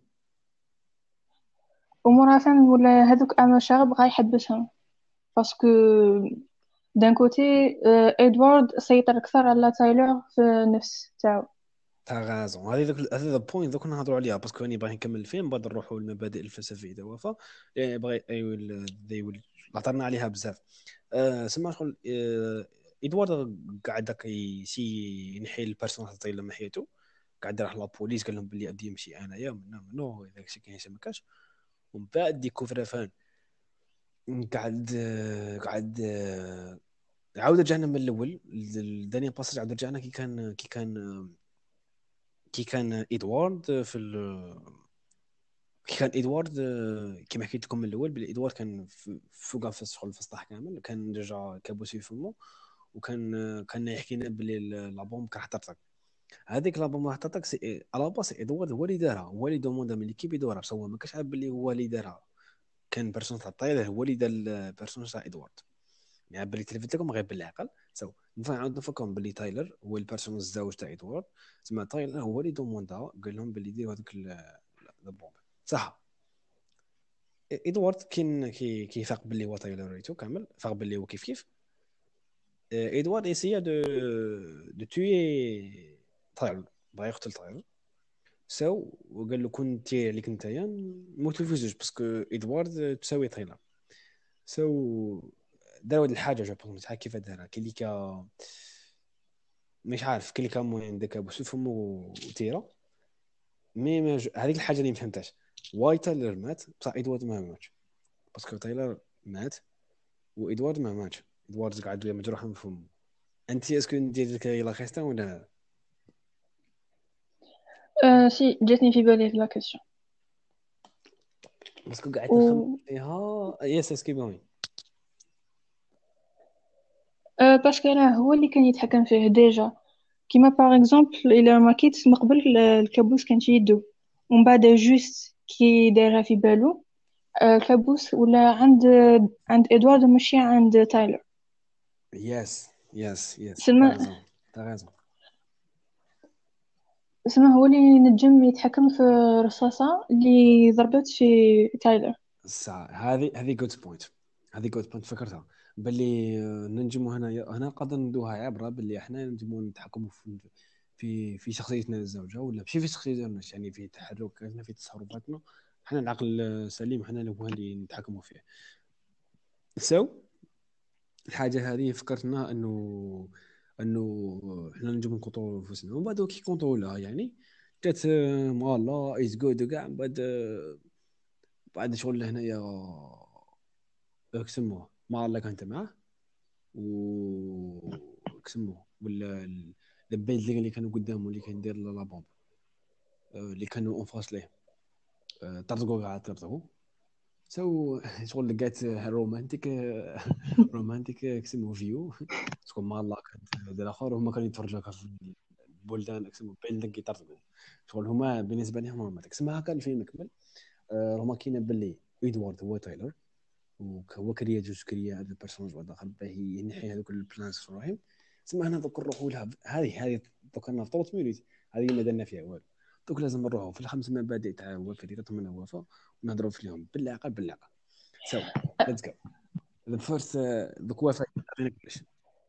وموراها فان ولا هذوك اعمال شغب غا يحبسهم، باسكو دان كوتي ادوارد سيطر اكثر على تايلور في النفس تاعو. تاع غازون هذه ذاك هذا البوينت دوك نهضروا عليها باسكو راني باغي نكمل الفيلم بعد نروحوا للمبادئ الفلسفيه دابا ف يعني باغي ايوه ذي ويل هضرنا عليها بزاف. أه سما شغل أه ادوارد قاعد داك يسي ينحي البيرسوناج تاعي لما حياته، قاعد راح لابوليس قال لهم بلي غادي يمشي انايا من منو داك الشيء كاين ما كاش. ومن بعد ديكوفرا فان قاعد آه، قاعد آه، عاود رجعنا من الاول الدنيا باسج، عاود رجعنا كي كان كي كان كي كان ادوارد في ال... كي كان ادوارد آه، كما حكيت لكم من الاول بلي ادوارد كان في- فوق في الشغل في السطح كامل، كان رجع كابوس في فمه، وكان آه، كان يحكي لنا بلي ال- لابوم كان حطرتك. هذيك لابوم اللي حطرتك سي على باس ادوارد هو اللي دارها، هو اللي دوموندا من ليكيب يدورها، بس هو ما كانش عارف بلي هو اللي دارها. كان بيرسون تاع الطايله هو اللي دار البيرسون تاع ادوارد. يعني باللي تلفت لكم غير بالعقل سو نعاود نفكركم باللي تايلر هو البيرسون الزوج تاع ادوارد. تسمى تايلر هو اللي دوموندا قال لهم باللي يديروا هذوك البومب صح. ادوارد كين كي كيفاق باللي هو تايلر ريتو كامل، فاق باللي هو كيف كيف. ادوارد اسيا دو دو توي تايلر، بغا يقتل تايلر. سو وقال له كون تي اللي كنت نتايا نموتو في زوج باسكو ادوارد تساوي تايلر. سو دار واحد الحاجه جو بونس شحال كيف دارها كي اللي كا مش عارف كي اللي كان المهم داك ابو سيف فمو وتيرا. مي ما ج- هذيك الحاجه اللي ما فهمتهاش، واي تايلر مات بصح ادوارد ما ماتش. باسكو تايلر مات وادوارد ما ماتش، ادوارد قاعد مجروح من فمه. انت اسكو ندير لك لا خيستان ولا لا؟ أه سي جاتني في بالي لا كيسيون. باسكو قاعد نخمم و فيها. يس اسكي بوين. أه باسكو راه هو اللي كان يتحكم فيه ديجا، كيما باغ اكزومبل الى ما كيت من قبل ال- الكابوس كان في يدو، ومن بعد جوست كي دارها في بالو أه الكابوس ولا عند عند ادوارد ماشي عند تايلر. يس يس يس سلمان تاغزون تاغزون. سلمان هو اللي نجم يتحكم في الرصاصة اللي ضربت في تايلر. الساعة هذه هذه جود بوينت، هذه جود بوينت فكرتها باللي آه، ننجموا هنا هنا نقدر ندوها عبره باللي احنا ننجموا نتحكموا في في في شخصيتنا الزوجه ولا ماشي في شخصيتنا، يعني في تحركاتنا في تصرفاتنا. احنا العقل السليم احنا اللي هو اللي نتحكموا فيه. سو الحاجه هذه فكرتنا انه انه احنا نجم نكونترولوا نفوسنا، ومن بعد كي كونترولها يعني جات آه، مالا از جود وكاع من بعد آه، بعد شغل هنايا كسموه ما الله كانت معاه وكسموه ولا ال- البيلدينغ اللي كانوا قدامه اللي كان يدير لا بومب آه، اللي كانوا اونفاس ليه آه، طردقوا قاعد طردقوا. سو شغل لقيت رومانتيك رومانتيك كسموه فيو تكون ما الله كانت دير اخر وهما كانوا يتفرجوا هكا في البلدان كسموه بيلدينغ يطردقوا. شغل هما بالنسبه لهم رومانتيك سما هكا الفيلم يكمل. آه، هما كاين باللي ادوارد هو تايلر، وهو كريا جوج كريا هذا البيرسوناج واحد اخر باه ينحي هذوك البلانس في الرحم. تسمى هنا دوك نروحوا لها هذه هذه دوك انا في ثلاث مينوت هذه ما درنا فيها والو. دوك لازم نروحوا في الخمس مبادئ تاع وفاء اللي من وفاء ونهضروا فيهم بالعقل بالعقل. سو ليتس جو ذا فيرست. دوك وفاء عطينا كلش.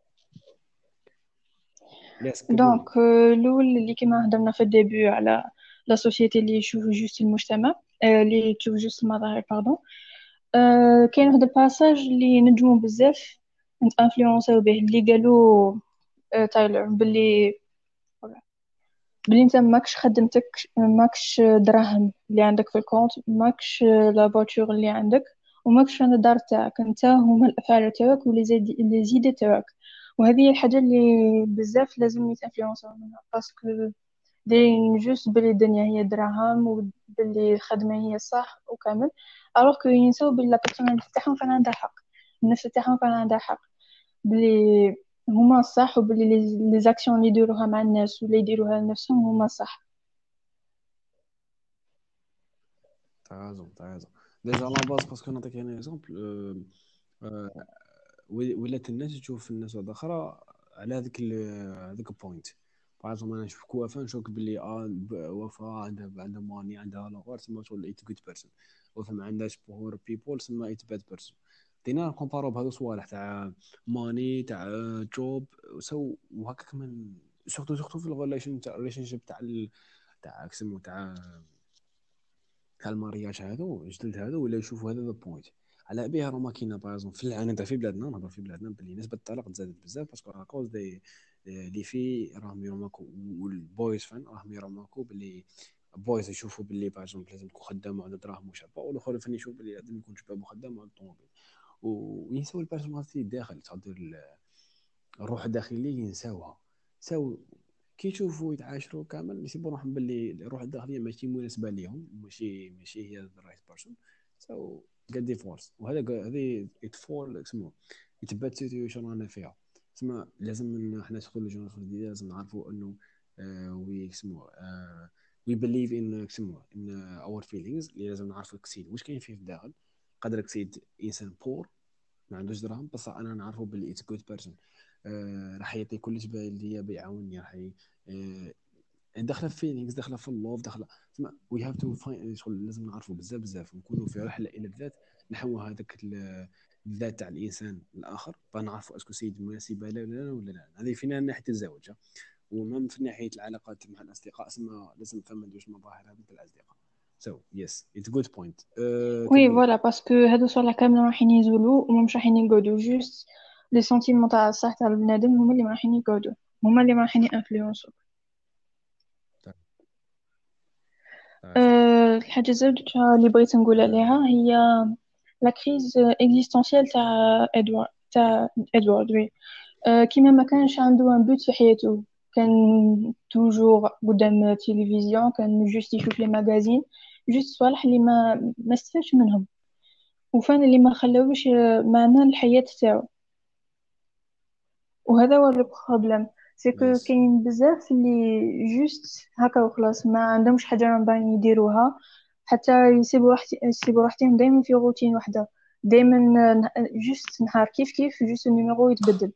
يس كيب جوينغ. دونك آه، الاول اللي كما هضرنا في الديبي على لا سوسيتي اللي يشوف جوست المجتمع، آه، اللي تشوف جوست المظاهر باردون. آه، كاين واحد الباساج اللي نجمو بزاف نتانفلونسيو به اللي قالوا آه، تايلر باللي بلي انت ماكش خدمتك، ماكش دراهم اللي عندك في الكونت، ماكش لا فواتور اللي عندك، وماكش انا الدار تاعك، انت هما الافعال تاعك ولي زيد لي زيد تاعك. وهذه هي الحاجه اللي بزاف لازم يتانفلونساو منها، باسكو دايرين جوست بلي الدنيا هي دراهم وبلي الخدمه هي صح وكامل، الوغ كو ينساو بلي لا بيرسون تاعهم كان عندها حق، النفس تاعهم كان عندها حق، بلي هما صح، وبلي لي زاكسيون اللي يديروها مع الناس ولا يديروها لنفسهم هما صح. t'as raison t'as raison ديجا لا باز باسكو نعطيك انا اكزومبل ولات الناس تشوف الناس واحده اخرى على هذيك ال- هذيك البوينت. باغ انا نشوف وفاء نشوف باللي اه ب- وفاء عندها عندها ماني عندها لاغار تسمى شغل ايت جود بيرسون. وفاء ما عندهاش بور بيبول تسمى ايت باد بيرسون. دينا نكومبارو بهذو الصوالح تاع ماني تاع جوب سو وهكا كمان. سورتو سورتو في الريليشن تاع الريليشن شيب تاع ال- تاع كسمو تاع تاع المارياج هذو جدد هذو ولا يشوفوا هذا ذا بوينت. على بها راه ما كاينه باغ في الع- انا في بلادنا نهضر في بلادنا باللي نسبه الطلاق تزادت بزاف باسكو اكوز دي لي في راهم يرماكو والبويز فان راهم يرماكو باللي بويز يشوفوا باللي باغ لازم تكون خدام وعندها دراهم وشابه، والاخر فان يشوف باللي لازم يكون شباب وخدام وعنده طوموبيل. وينساو البيرسوناليتي الداخل تقدر الروح الداخليه ينساوها. ساو كي يشوفوا يتعاشروا كامل يسيبوا روحهم باللي الروح الداخليه ماشي مناسبه ليهم، ماشي ماشي هي ذا رايت بيرسون. سو قد ديفورس. وهذا قا- هذه يتفول اسمه يتبات سيتويشن رانا فيها. تسمى لازم إن احنا ندخلوا الجنراسيون الجديده لازم نعرفوا انه وي اسمه وي بليف ان اسمه ان اور فيلينغز اللي لازم نعرفوا كسيد واش كاين فيه في الداخل. قدر كسيد انسان بور ما عندوش دراهم بصح انا نعرفه باللي اتس جود بيرسون. راح يعطي كل شيء اللي بيعاونني راح ي... آه، داخله في فيلينغز داخله في اللوف داخله. تسمع وي هاف تو شغل لازم نعرفوا بزاف بزاف ونكونوا في رحله الى الذات نحو هذاك ال- الذات تاع الانسان الاخر فنعرفوا اسكو سيد مناسبه لا ولا لا ولا لا. هذه فينا من ناحيه الزواج. ومن في ناحيه العلاقات مع الاصدقاء اسمها لازم فما دوش مظاهر هذه الاصدقاء. So yes, it's a good point. أه وي تبي فوالا، باسكو هادو صوالح كامل رايحين يزولوا وما مش رايحين يقعدوا جوست لي سونتيمون تاع الصح تاع البنادم هما اللي ما رايحين يقعدوا، هما اللي ما رايحين يانفلونسو. أه الحاجه الزوجة اللي بغيت نقول عليها هي لا كريز اكزيستونسيال تاع ادوارد تاع ادوارد وي. أه كيما ما كانش عنده ان بوت في حياته، كان توجور قدام التلفزيون، كان جوست يشوف لي ماغازين، جوست صوالح اللي ما ما استفادش منهم، وفان اللي ما خلاوش معنى الحياة تاعو. وهذا هو البروبليم، سيكو يس. كاين بزاف اللي جوست هكا وخلاص ما عندهمش حاجة راهم يديروها، حتى يسيبوا راحت يسيبوا راحتهم دائما في روتين واحدة، دائما جوست نهار كيف كيف جوست النيميرو يتبدل.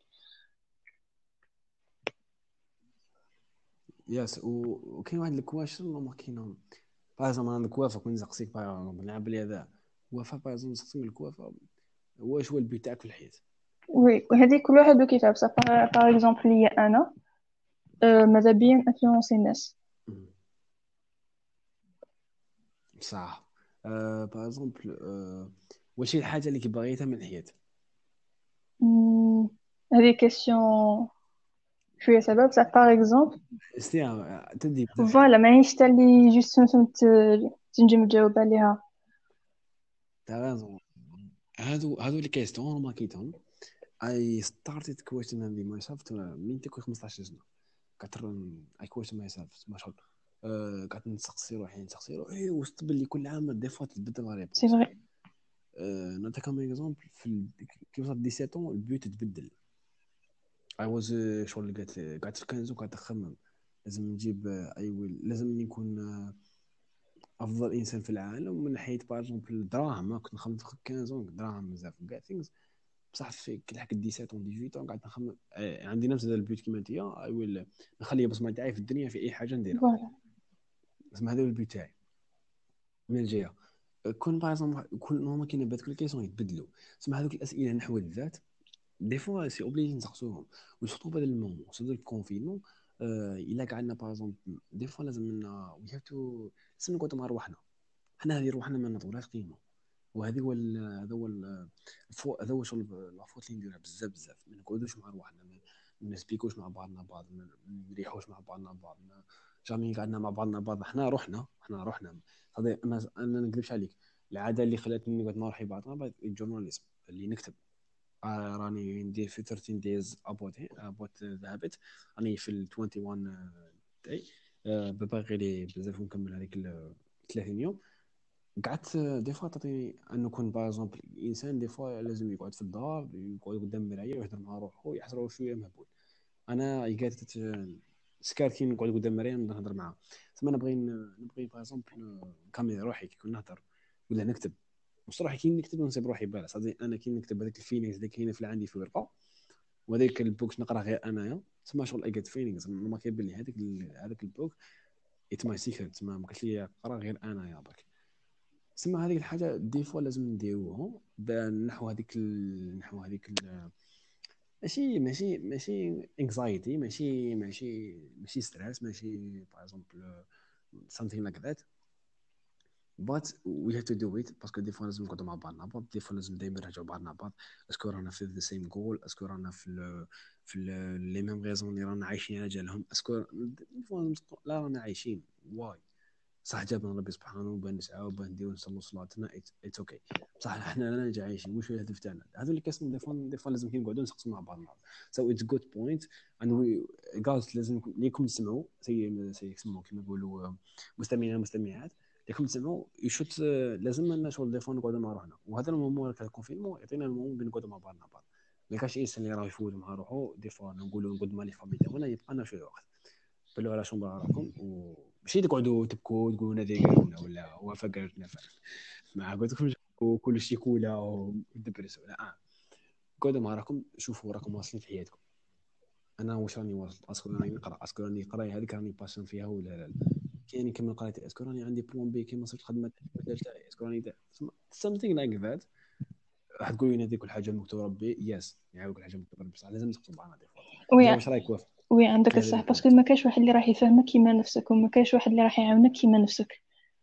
يس وكاين واحد الكواشن ما كاينهم. باغ عندك وفاء كون نسقسيك باغ نلعب بلي هذا وفاء باغ نسقسيك من الوفاء واش هو البيت تاعك في الحياه. وي وهذه كل واحد وكيفاه بصح. باغ اكزومبل ليا انا أه ماذا بيا انفلونسي الناس. مم. صح. أه باغ اكزومبل أه واش هي الحاجه اللي كبغيتها من الحياه. مم، هذه كيسيون شوية سبب بصح. باغ اكزومبل استيا تدي بزاف. فوالا ماهيش تا اللي جوست فهمت تنجم تجاوب عليها. تاع رازون. هادو هادو لي كيستيون ما كيتهم. اي ستارتد كويشن ماي سيلف من تكون خمسطاش سنه. كتر اي كويشن ماي سيلف ما شاء الله. أه قعدت نسقسي روحي نسقسي روحي وسط باللي كل عام دي فوا تبدل لا سي ريبونس. فري. أه نعطيك كم اكزومبل في ال... كي وصلت سبعة عشر البيوت تبدل. اي واز شغل قالت قعدت في كنزو قعدت نخمم لازم نجيب اي ويل لازم نكون آه، افضل انسان في العالم من ناحيه باغ اكزومبل الدراهم. كنت نخمم في خمسة عشر دراهم بزاف كاع ثينكس. بصح في كي لحقت سبعة عشر ثمانية عشر قعدت نخمم آه، عندي نفس هذا البيوت كيما انت اي ويل نخلي بصمه تاعي في الدنيا في اي حاجه نديرها. فوالا. اسمع هذا هو البيوت تاعي من الجهه. كون باغ اكزومبل كل نورمال كاين بات كل كيسون يتبدلوا. اسمع هذوك الاسئله نحو الذات دي فوا سي اوبليجي نسقسوهم. وسورتو بهذا المومون سورتو الكونفينمون. آه الا قعدنا باغ اكزومبل دي فوا لازم وي هاف تو لازم نقعدوا مع رواحنا. حنا هذه روحنا ما نعطولهاش قيمه. وهذه هو ال- هذا هو ال- الفو هذا هو شغل لافوت اللي نديرها بزاف بزاف ما نقعدوش مع رواحنا ما ما نسبيكوش مع بعضنا بعض ما نريحوش مع بعضنا بعض ما جامي قعدنا مع بعضنا بعض حنا روحنا حنا روحنا. هذا انا انا ما نكذبش عليك. العاده اللي خلاتني نقعد نروح بعضنا بعض الجورناليزم اللي نكتب. آه راني ندير في ثلاثة عشر دايز ابوت ابوت ذا هابت. راني في ال واحد وعشرين تاعي. آه باغي لي بزاف ونكمل هذيك ال ثلاثين يوم. قعدت دي فوا تعطيني انه كون باغ اكزومبل الانسان دي فوا لازم يقعد في الدار يقعد قدام المرايه ويهضر مع روحه يحس روحه شويه مهبول. انا يقات سكار كي نقعد قدام مريم نهضر معاها تما نبغي نبغي باغ اكزومبل كاميرا روحي كي نهضر ولا نكتب مش روحي كي نكتب ونسيب روحي بالا صافي انا كي نكتب هذيك الفيلينغز اللي كاينه في عندي في الورقه وهذاك البوك نقرا غير انايا تما شغل اي جيت فيلينغز ما كيبان لي هذاك هذاك البوك ات ماي سيكريت تما ما قلت لي قرا غير انايا برك تسمى هذيك الحاجه دي فوا لازم نديروها نحو هذيك ال... نحو هذيك ال... ماشي ماشي ماشي انكزايتي ماشي ماشي ماشي ستريس ماشي باغ اكزومبل something like that but we have to do it باسكو دي فوا لازم نقعدوا مع بعضنا بعض دي فوا لازم دائما نرجعوا بعضنا بعض اسكو رانا في ذا سيم جول اسكو رانا في ال في لي ميم ريزون اللي رانا عايشين على جالهم اسكو دي فوا لا رانا عايشين واي صح جابنا ربي سبحانه وبان نسعى وبان نديرو نصلوا صلاتنا اتس اوكي بصح احنا رانا جا عايشين واش هو الهدف تاعنا هذو اللي كاسم دي فوا دي فوا لازم كي نقعدوا نسقسوا مع بعضنا سو اتس جود بوينت اند جايز لازم ليكم تسمعوا سي سي يسموا كيما يقولوا مستمعين المستمعات ليكم تسمعوا يشوت لازم لنا شغل دي فوا نقعدوا مع روحنا وهذا المومون تاع الكونفينمون يعطينا المومون بين نقعدوا مع بعضنا بعض ما كاش انسان اللي راه يفوت مع روحو دي فوا نقولوا نقعد مع لي فامي تاعنا يبقى لنا شويه وقت بلو على شنو راكم وماشي تقعدوا تبكوا تقولوا نادي قالونا ولا وفا قالتنا ما قلت لكم كل شيء كولا ودبرسوا لا آه. قعدوا مع راكم شوفوا راكم واصلين في حياتكم انا واش راني واصل اسكو راني نقرا اسكو راني قراي هذيك راني باشن فيها ولا لا كاين كيما قرايتي اسكو راني عندي بلان بي كيما صرت خدمه تاعي اسكو راني something like that راح تقول لي هذه كل حاجه مكتوبه ربي يس يعني كل حاجه مكتوبه بصح لازم تخطب معنا دي فوا وي انت واش رايك وافق وي عندك في هذا الصح باسكو البوينت ما كاش واحد اللي راح يفهمك كيما نفسك وما كاش واحد اللي راح يعاونك كيما نفسك.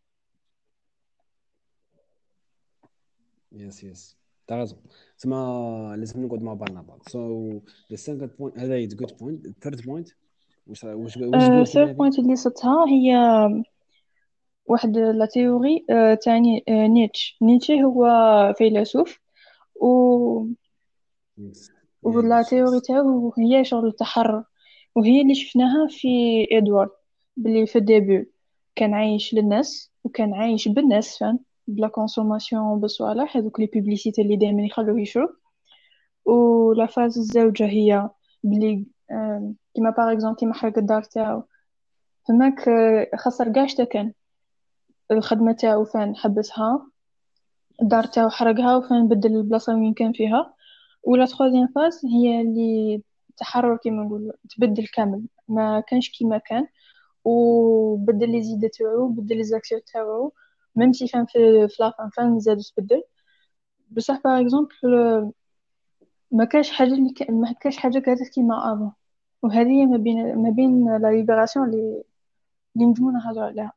يس يس تعرف تسمى لازم نقعد مع بعضنا بعض سو ذا سكند بوينت هذا از جود بوينت الثيرد بوينت واش واش واش تقول ثيرد كيما هذه بوينت اللي صدتها هي واحد لا تيوري آه، تاني آه، نيتش نيتشه هو فيلسوف و يس يا ولا نيتشه تيوري يس تاعو هي شغل التحرر، وهي اللي شفناها في ادوارد، بلي في الديبي كان عايش للناس وكان عايش بالناس فاهم، بلا كونسوماسيون بصوالح هذوك لي بوبليسيتي اللي دائما يخلوه يشوف. ولا فاز الزوجة هي بلي آم، كيما باغ اكزومبل كيما حرق الدار تاعو فماك، آه، خسر كاع كان الخدمة تاعو فين حبسها، الدار يس تاعو حرقها وفين بدل البلاصة وين كان فيها. ولا تخوازيام فاز هي اللي تحرر كيما نقول تبدل كامل، ما كانش كيما كان وبدل لي زيد تاعو بدل لي زاكسيون تاعو، ميم سي فان في في لافان فان زاد تبدل. بصح باغ اكزومبل ما كاش حاجه اللي ك... ما كاش حاجه قالت كيما افون، وهذه ما بين ما بين لا ليبراسيون اللي اللي نجمو نهضروا عليها.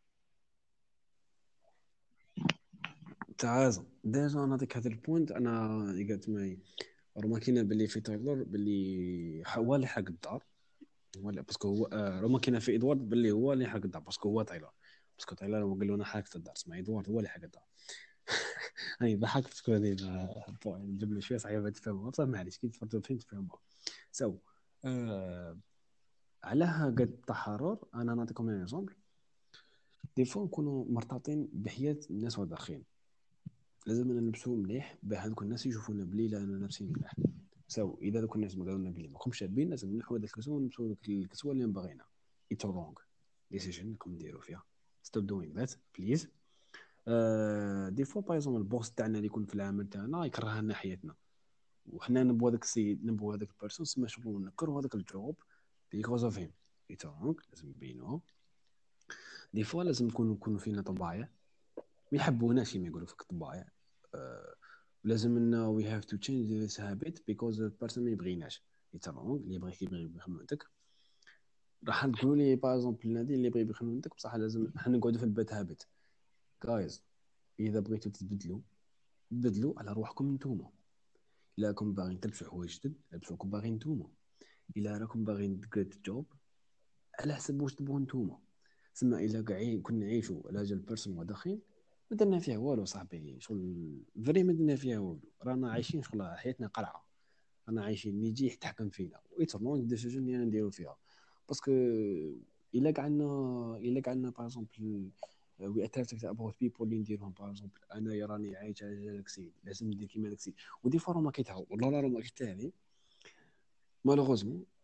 تعال ديجا نعطيك هذا البوينت انا قلت معي رماكينا باللي في تايلور باللي هو اللي حرق الدار ولا باسكو هو آه رماكينا في ادوارد باللي هو اللي حرق الدار باسكو هو تايلور باسكو تايلور هو قال لنا حرقت الدار اسمع ادوارد هو اللي حرق الدار هاي ضحكت باسكو هذه بوين جبنا شويه صعيبه تفهمها بصح معليش كي تفرجوا فين تفهموا سو آه علاه قد التحرر انا نعطيكم ان اكزومبل دي فوا نكونوا مرتبطين بحياه الناس والاخرين لازم نلبسوا مليح باه هذوك الناس يشوفونا بلي لا انا لابسين مليح سو اذا ذوك الناس ما قالوا لنا بلي ماكمش شابين لازم نحو هذاك الكسوه ونلبسوا ذوك الكسوه اللي باغينا اتس رونغ ديسيجن راكم ديروا فيها ستوب دوين ذات بليز دي فوا باغ اكزومبل البوس تاعنا اللي يكون في العمل تاعنا يكره لنا حياتنا وحنا نبغوا هذاك السيد نبغوا هذاك البيرسون سما شغل نكرهوا هذاك الجوب بيكوز اوف هيم اتس رونغ لازم نبينوه دي فوا لازم نكونوا نكونوا فينا طبايع ما يحبوناش كيما يقولوا فيك طبايع أه لازم انه وي هاف تو تشينج ذيس هابيت بيكوز البيرسون ما يبغيناش يترونغ اللي يبغيك يبغي بخدمتك راح تقولوا لي باغ اكزومبل نادي اللي يبغي بخدمتك بصح لازم احنا نقعدوا في البيت هابيت جايز اذا بغيتوا تتبدلوا بدلوا على روحكم نتوما الا راكم باغيين تلبسوا حوايج جدد لبسوكم باغيين نتوما الا راكم باغيين تجيت جوب على حسب واش تبغوا نتوما ثم الا كاع كنا نعيشوا على جال بيرسون وداخل ما درنا فيها والو صاحبي شغل فري ما درنا فيها والو رانا عايشين شغل حياتنا قلعه رانا عايشين اللي يجي يتحكم فينا ويترمون ديسيجن اللي نديرو فيها باسكو الا قعدنا الا قعدنا باغ اكزومبل وي اتراكتد اباوت بيبول اللي نديرهم باغ اكزومبل انا راني عايش على داك السيد لازم ندير كيما داك السيد ودي فوا ما كيتهاو والله لا ما كيتهاوي مالوغوزمون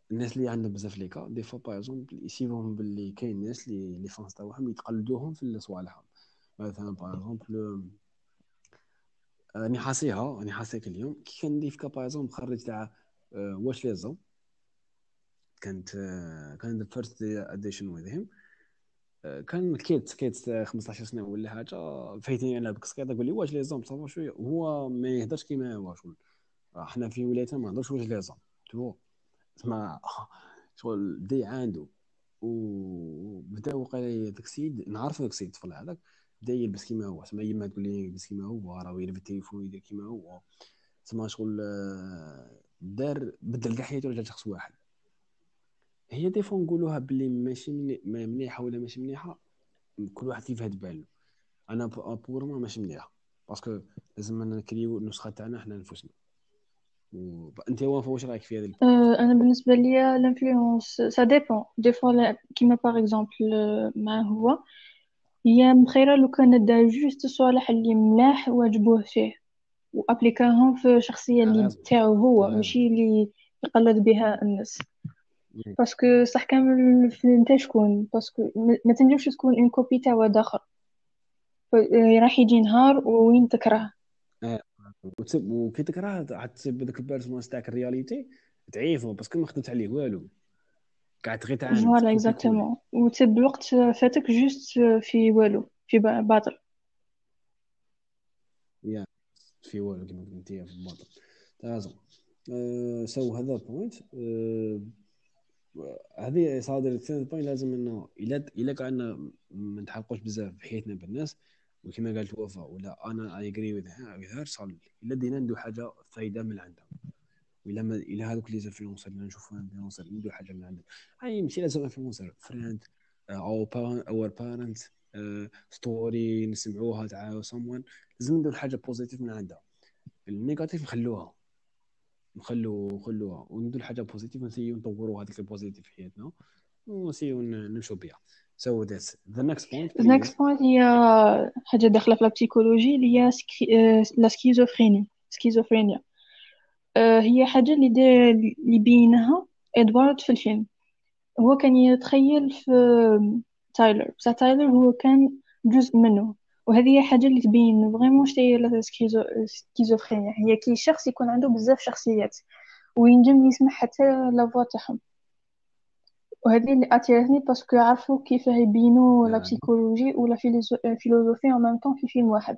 الناس اللي عندهم بزاف لي كا دي فوا باغ اكزومبل يسيبوهم باللي كاين ناس اللي لي فانس تاعهم يتقلدوهم في صوالحهم. مثلا باغ اكزومبل راني حاسيها راني حاسيك اليوم كي كان ندير في كا باغ اكزومبل خرج تاع واش لازم. كانت آه، كان ذا فيرست اديشن وذ هيم. كان كيت كيت خمسطاش سنه ولا حاجه فايتني انا بكسكيطه تقول لي واش لازم صافا شويه وهو ما يهدرش كيما هو شغل. احنا في ولايتنا ما نهضرش واش لازم تو تسمع شغل بدا يعاندو وبدا وقال داك السيد نعرف داك السيد الطفل هذاك بدا يلبس كيما هو تسمى يما تقول لي يلبس كيما هو راه يلبس التليفون يدير كيما هو تسمى شغل آه، دار بدل كاع حياته رجع شخص واحد. هي دي فوا نقولوها باللي ماشي مني- ما مليحه ولا ماشي مليحه كل واحد كيف هاد بالو. انا بور ما ماشي مليحه باسكو لازم نكريو النسخه تاعنا حنا نفسنا. وانت وافا واش رايك في هذا البوينت؟ أه انا بالنسبه ليا الانفلونس سا ديبون دي فوا كيما باغ اكزومبل مع هو هي مخيره لو كان دا جوست صوالح اللي ملاح وعجبوه فيه وابليكاهم في الشخصيه اللي غازو تاعو هو غازو ماشي اللي يقلد بها الناس. باسكو صح كامل في انت شكون باسكو ما ما تنجمش تكون اون كوبي تاع واحد اخر. ف- آه، راح يجي نهار وين تكره. اه وتسب وكي تكره عاد تسب ذاك البيرسوناج تاعك الرياليتي تعيفو باسكو ما خدمت عليه والو قاعد غير تعاند فوالا كوبي كولي. اكزاكتومون وتسب الوقت فاتك جوست في والو في با- باطل. يا في والو كما قلت انت في الباطل لازم أه سو هذا بوينت. أه هذه صادر الثاني بوينت لازم انه الا الا قعدنا ما نتحققوش بزاف في حياتنا بالناس وكما قالت وفاء ولا انا اي اجري وذ هير صار الا دينا ندو حاجه فايده من عندها. ولا ما الى هذوك لي زانفلونسر اللي نشوفوا انفلونسر ندو حاجه من عندهم. اي ماشي لازم انفلونسر فريند او اور بارنت ستوري نسمعوها تاع someone لازم ندير حاجه بوزيتيف من عندها. النيجاتيف نخلوها نخلو نخلوها وندير حاجه بوزيتيف ونسيو نطوروا هذيك البوزيتيف في حياتنا ونسيو ن- نمشوا بها. So that's the next point The please. next point هي حاجة داخلة في البسيكولوجي اللي هي سكي... آه، لا سكيزوفريني سكيزوفرينيا. آه، هي حاجة اللي دا... اللي بينها إدوارد في الفيلم. هو كان يتخيل في تايلر بصح تايلر هو كان جزء منه. وهذه هي حاجة اللي تبين فريمون شتي هي لا سكيزو... سكيزوفرينيا هي كي شخص يكون عنده بزاف شخصيات وينجم يسمع حتى لا فوا تاعهم. وهذه اللي اتيرتني باسكو يعرفوا كيف يبينوا لا يعني بسيكولوجي ولا فيلوزوفي en même temps في فيلم واحد.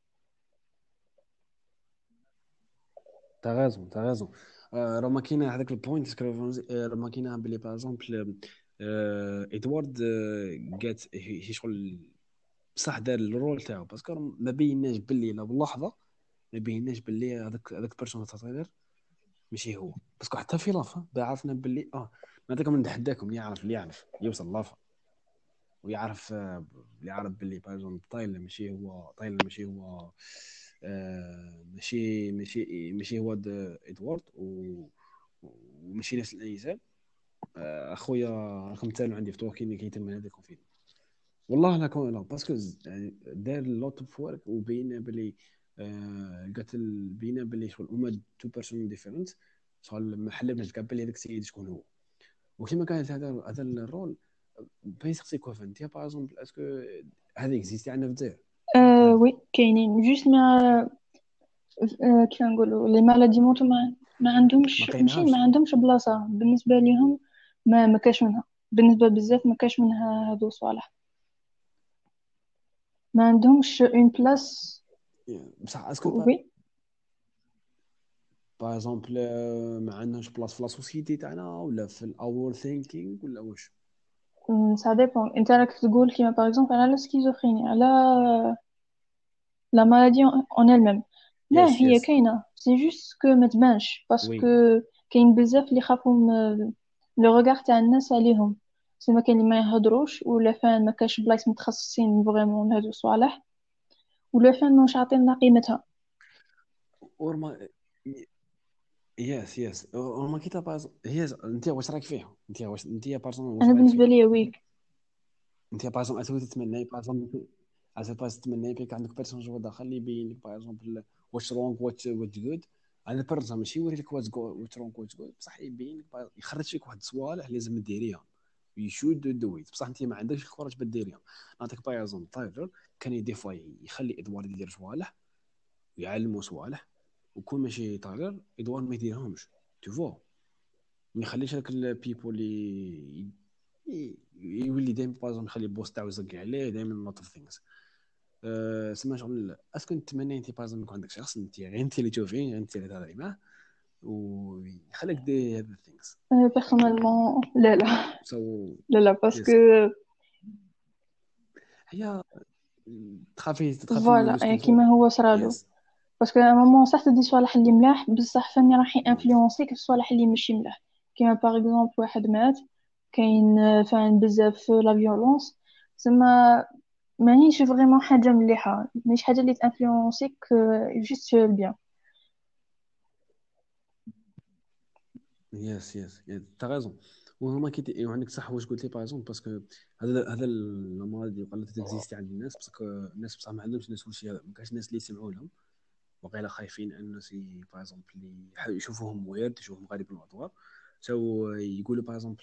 t'as raison t'as raison. آه، راه ما كاينه هذاك البوينت راه ما كاينه بلي باغ اكزومبل ادوارد آه، قالت هي هي شغل بصح دار الرول تاعو باسكو ما بيناش باللي لا باللحظه ما بيناش باللي هذاك هذاك بيرسون تاع ماشي هو باسكو حتى في لافا عرفنا باللي اه نعطيكم نتحداكم اللي يعرف اللي يعرف يوصل لافا ويعرف آه، اللي يعرف باللي بايزون طايل ماشي هو طايل ماشي هو آه ماشي ماشي ماشي هو د- ادوارد و- وماشي نفس الانسان. آه اخويا رقم ثاني عندي في توكي كيتم هذاك الفيلم والله لا كون لا باسكو ز- يعني دار لوت اوف ورك وبين باللي آه قتل بينا باللي شغل هما تو بيرسون ديفيرنت شغل ما حلمناش كاع باللي هذاك السيد شكون هو. وكما كانت هذا هذا الرول بين سقسي كوفن انت باغ اكزومبل اسكو هذا اكزيستي عندنا في الجزائر. أه وي كاينين جوست ما أه كيف نقولوا لي مالادي موتو ما ما ما عندهمش ماشي ما لقيناهاش. عندهمش بلاصة بالنسبة لهم. ما ما كاش منها بالنسبة بزاف ما كاش منها هذو صوالح. ما عندهمش اون بلاس. بصح اسكو وي باغ اكزومبل ما عندناش بلاص في لا سوسيتي تاعنا ولا في الاور ثينكينغ ولا واش. سا ديبون انت راك تقول كيما باغ اكزومبل على السكيزوفرينيا على لا مالادي اون elle-même. لا يس هي يس كاينه سي جوست كو ما تبانش باسكو وي كاين بزاف اللي خافوا من لو ريغار تاع الناس عليهم. سما كاين اللي ما يهضروش ولا فان ما كاش بلايص متخصصين فريمون هادو الصوالح ولا فان مش عاطيننا قيمتها. ورما يس يس ورما كي باز هي انت واش رايك فيها انت واش انت بارسون واش انا رايك بالنسبه فيها. لي ويك. انت بارسون اسوي تتمنى بارسون اسوي باز تتمنى بيك عندك بيرسون جو داخل اللي يبين لك باغ اكزومبل واش رونغ وات وات جود انا بيرسون ماشي يوري لك واش تقول وترونك واش تقول، بصح يبين لك بعض- يخرج لك واحد الصوالح لازم ديريها، يشود دويت، بصح انت ما عندكش الكوراج باش ديريها. نعطيك بايزون تايلر كان دي فوا يخلي ادوارد يدير صوالح ويعلمو صوالح، وكون ماشي تايلر ادوارد ما يديرهمش، تو فوا. ما يخليش هذاك البيبول اللي ي- يولي دائما بايزون يخلي بوست تاعو يزق عليه دائما لوت اوف ثينكس. سما شغل اسكو نتمنى انت بايزون يكون عندك شخص انت غير انت اللي تشوفيه غير انت اللي تهضري معاه ويخليك دير هاد الثينكس. Euh, personnellement, لا لا سو لا لا parce يس que هي تخافي تخافي يو فوالا لوز يعني كونترول. كيما هو صرالو. يس باسكو ا مومون صح تدي صوالح اللي ملاح بصح فاني راح انفلونسيك في الصوالح اللي ماشي ملاح. كيما باغ اكزومبل واحد مات، كاين آه، فان بزاف لا فيولونس، تسمى مانيش فريمون حاجه مليحه، مش حاجه اللي تانفلونسيك جوست البيان. يس يس انت غازون. وهما كي وعندك صح واش قلت لي باغ باسكو هذا هذا المرض اللي قال لك تكزيستي عند الناس، باسكو الناس بصح ما عندهمش الناس كلشي هذا، ما كاينش الناس اللي يسمعوا لهم وقيلا خايفين ان الناس باغ اللي يح- يشوفوهم ويرد، يشوفوهم غريب الموضوع، سو يقولوا باغ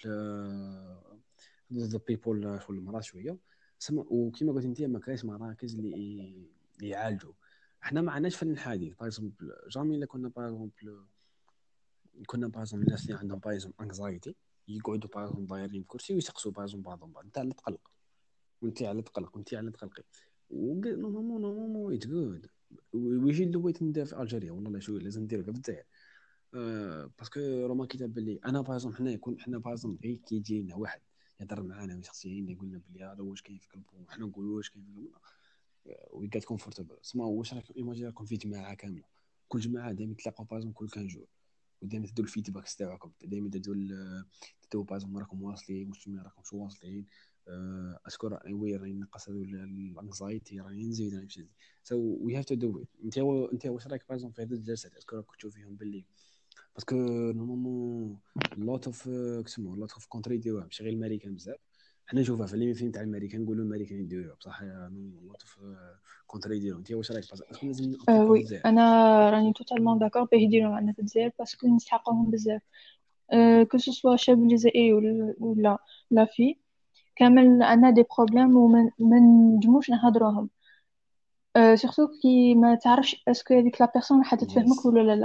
ذا بيبول شغل المرض شويه سما. وكما قلت انت ما كاينش مراكز اللي اللي يعالجوا. احنا ما عندناش فن الحديث باغ جامي الا كنا باغ كنا باغ الناس اللي عندهم باغ انكزايتي يقعدوا باغ دايرين كرسي ويسقسوا باغ بعضهم بعض، انت على تقلق وانت على تقلق وانت على تقلقي، نورمالمون نورمالمون اتس جود. ويجي اللويت ندير في الجيريا والله لا شو لازم ندير في الجزائر. أه باسكو روما كتاب باللي انا باغ حنا يكون حنا باغ غير كي يجي لنا واحد يهضر معانا شخصيا يقول لنا بلي هذا واش كاين في قلبه وحنا نقولوا واش كاين في قلبنا وي جات كومفورتبل. سما واش راك ايماجي راكم في جماعه كامله، كل جماعه دائما تلاقوا باغ كل كان جور، ودائما تدوا الفيدباك تاعكم، دائما تدوا ال- تدوا باغ راكم واصلين واش ما راكمش واصلين. أه اشكر وي راني نقص هذو الانكزايتي راني نزيد راني نمشي. سو وي هاف تو دو ات. انت انت واش رايك باغ في هذه الجلسات؟ اسكو راك تشوف فيهم باللي باسكو نورمالمون لوت اوف كسمو لوت اوف كونتري يديروها ماشي غير الامريكان بزاف. حنا نشوفها في اللي فيلم تاع الامريكان نقولوا الامريكان يديروها بصح لوت اوف كونتري يديروها. انت واش رايك اسكو لازم أه نابليكوها في وي الجزائر؟ انا راني توتالمون داكور باه يديروا معنا في الجزائر باسكو نستحقوهم بزاف. أه كو سوسوا شاب جزائري ولا ولا لا في كامل عندنا دي بروبليم وما ما نجموش نهضروهم. أه سورتو كي ما تعرفش اسكو هذيك لا بيرسون راح تفهمك يس ولا لا.